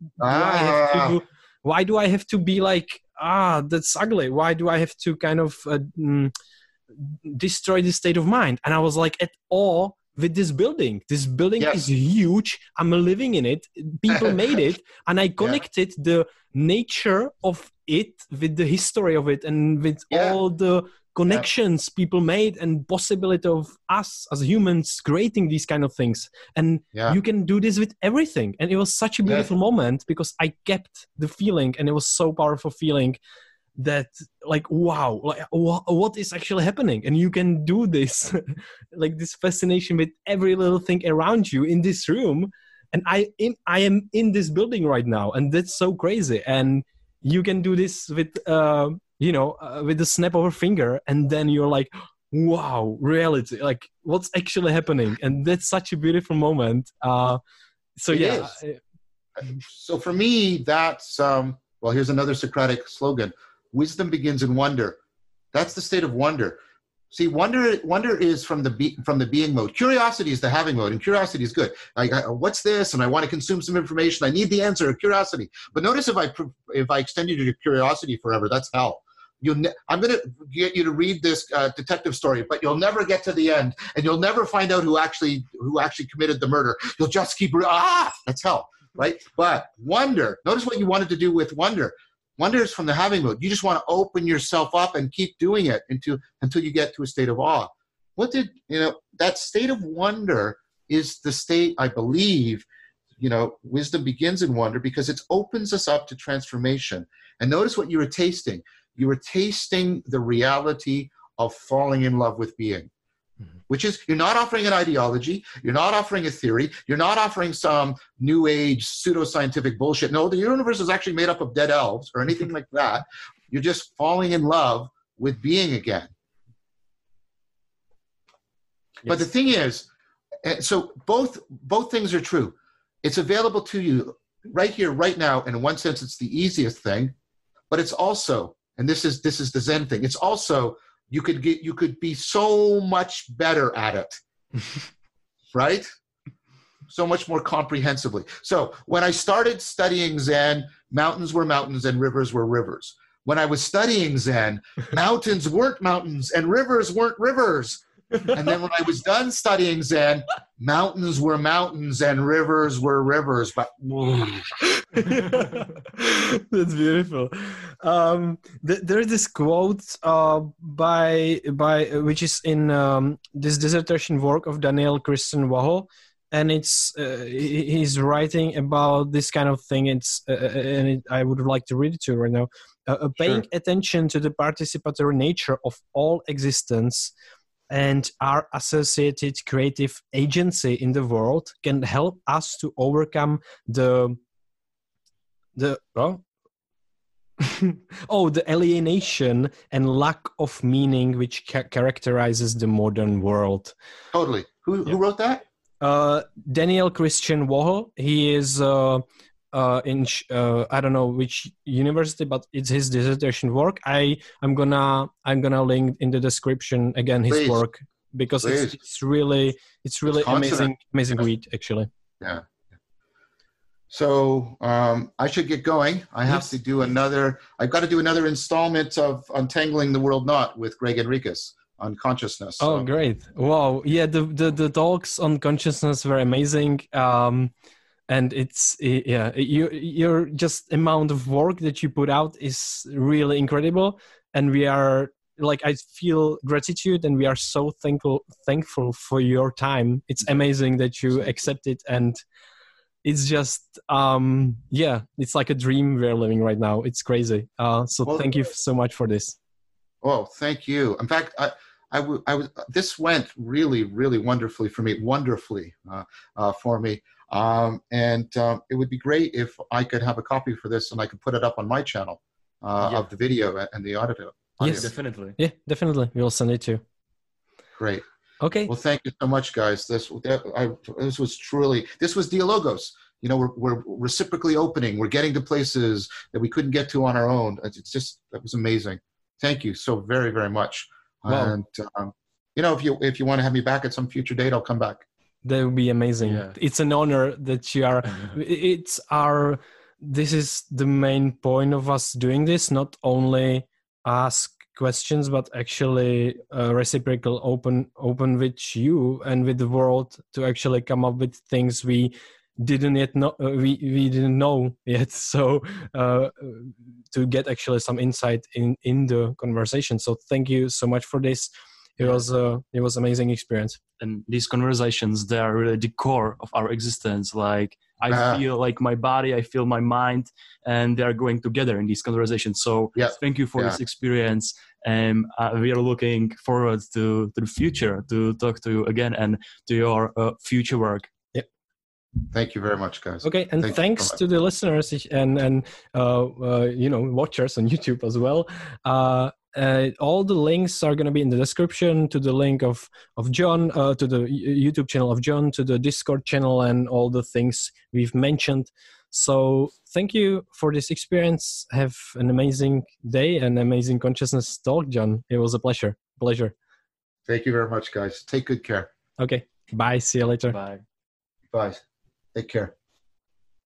do I have to be like, that's ugly? Why do I have to kind of destroy this state of mind? And I was like at awe with this building. This building is huge. I'm living in it. People made it. And I connected the nature of it with the history of it and with all the connections people made and possibility of us as humans creating these kind of things. And you can do this with everything. And it was such a beautiful moment because I kept the feeling, and it was so powerful feeling that like, wow, like what is actually happening? And you can do this, like this fascination with every little thing around you in this room. And I am in this building right now, and that's so crazy. And you can do this with, with the snap of a finger, and then you're like, wow, reality, like what's actually happening. And that's such a beautiful moment. So for me, that's, here's another Socratic slogan. Wisdom begins in wonder. That's the state of wonder. See, wonder is from the being mode. Curiosity is the having mode, and curiosity is good. What's this? And I want to consume some information. I need the answer. Curiosity. But notice if I extend you to curiosity forever, that's hell. I'm going to get you to read this detective story, but you'll never get to the end, and you'll never find out who actually committed the murder. You'll just keep that's hell, right? But wonder. Notice what you wanted to do with wonder. Wonder is from the having mode. You just want to open yourself up and keep doing it until you get to a state of awe. That state of wonder is the state, I believe, wisdom begins in wonder because it opens us up to transformation. And notice what you were tasting. You were tasting the reality of falling in love with being. which is you're not offering an ideology, you're not offering a theory, you're not offering some new age pseudoscientific bullshit. No, the universe is actually made up of dead elves or anything like that. You're just falling in love with being again. Yes. But the thing is, so both things are true. It's available to you right here, right now. And in one sense, it's the easiest thing, but it's also, and this is the Zen thing. It's also, you could be so much better at it, right? So much more comprehensively. So when I started studying Zen, mountains were mountains and rivers were rivers. When I was studying Zen, mountains weren't mountains and rivers weren't rivers. And then when I was done studying Zen, mountains were mountains and rivers were rivers. But that's beautiful. There's this quote by which is in this dissertation work of Daniel Christian Waho, and it's he's writing about this kind of thing. I would like to read it to you right now. Paying attention to the participatory nature of all existence and our associated creative agency in the world can help us to overcome the alienation and lack of meaning which characterizes the modern world. Totally. Who wrote that? Daniel Christian Waho. He is in I don't know which university, but it's his dissertation work. I'm gonna link in the description again his work, because it's really amazing read actually. Yeah. So I should get going. I have to do I've got to do another installment of Untangling the World Knot with Greg Enriquez on consciousness. So. Oh, great! Wow, yeah, the talks on consciousness were amazing. And it's your just amount of work that you put out is really incredible, and we are I feel gratitude, and we are so thankful for your time. It's amazing that you accept it, and it's just it's like a dream we're living right now. It's crazy. Thank you so much for this. Oh, thank you. In fact, this went really, really wonderfully for me. It would be great if I could have a copy for this and I could put it up on my channel of the video and the audio. Yes, definitely. Yeah, definitely. We'll send it to you. Great. Okay. Well, thank you so much, guys. This was Dialogos. You know, we're reciprocally opening. We're getting to places that we couldn't get to on our own. That was amazing. Thank you so very, very much. Wow. And if you want to have me back at some future date, I'll come back. That would be amazing. Yeah. It's an honor that you are. This is the main point of us doing this. Not only ask questions, but actually reciprocal open with you and with the world to actually come up with things we didn't yet know. We didn't know yet. So to get actually some insight in the conversation. So thank you so much for this. It was amazing experience. And these conversations, they are really the core of our existence. Like I feel like my body, I feel my mind, and they are going together in these conversations. So thank you for this experience. And we are looking forward to the future, to talk to you again and to your future work. Yep. Thank you very much, guys. Okay, and thanks to the listeners and watchers on YouTube as well. All the links are going to be in the description, to the link of John, to the YouTube channel of John, to the Discord channel, and all the things we've mentioned. So thank you for this experience. Have an amazing day and amazing consciousness talk, John. It was a pleasure. Thank you very much, guys. Take good care. Okay. Bye. See you later. Bye. Bye. Take care.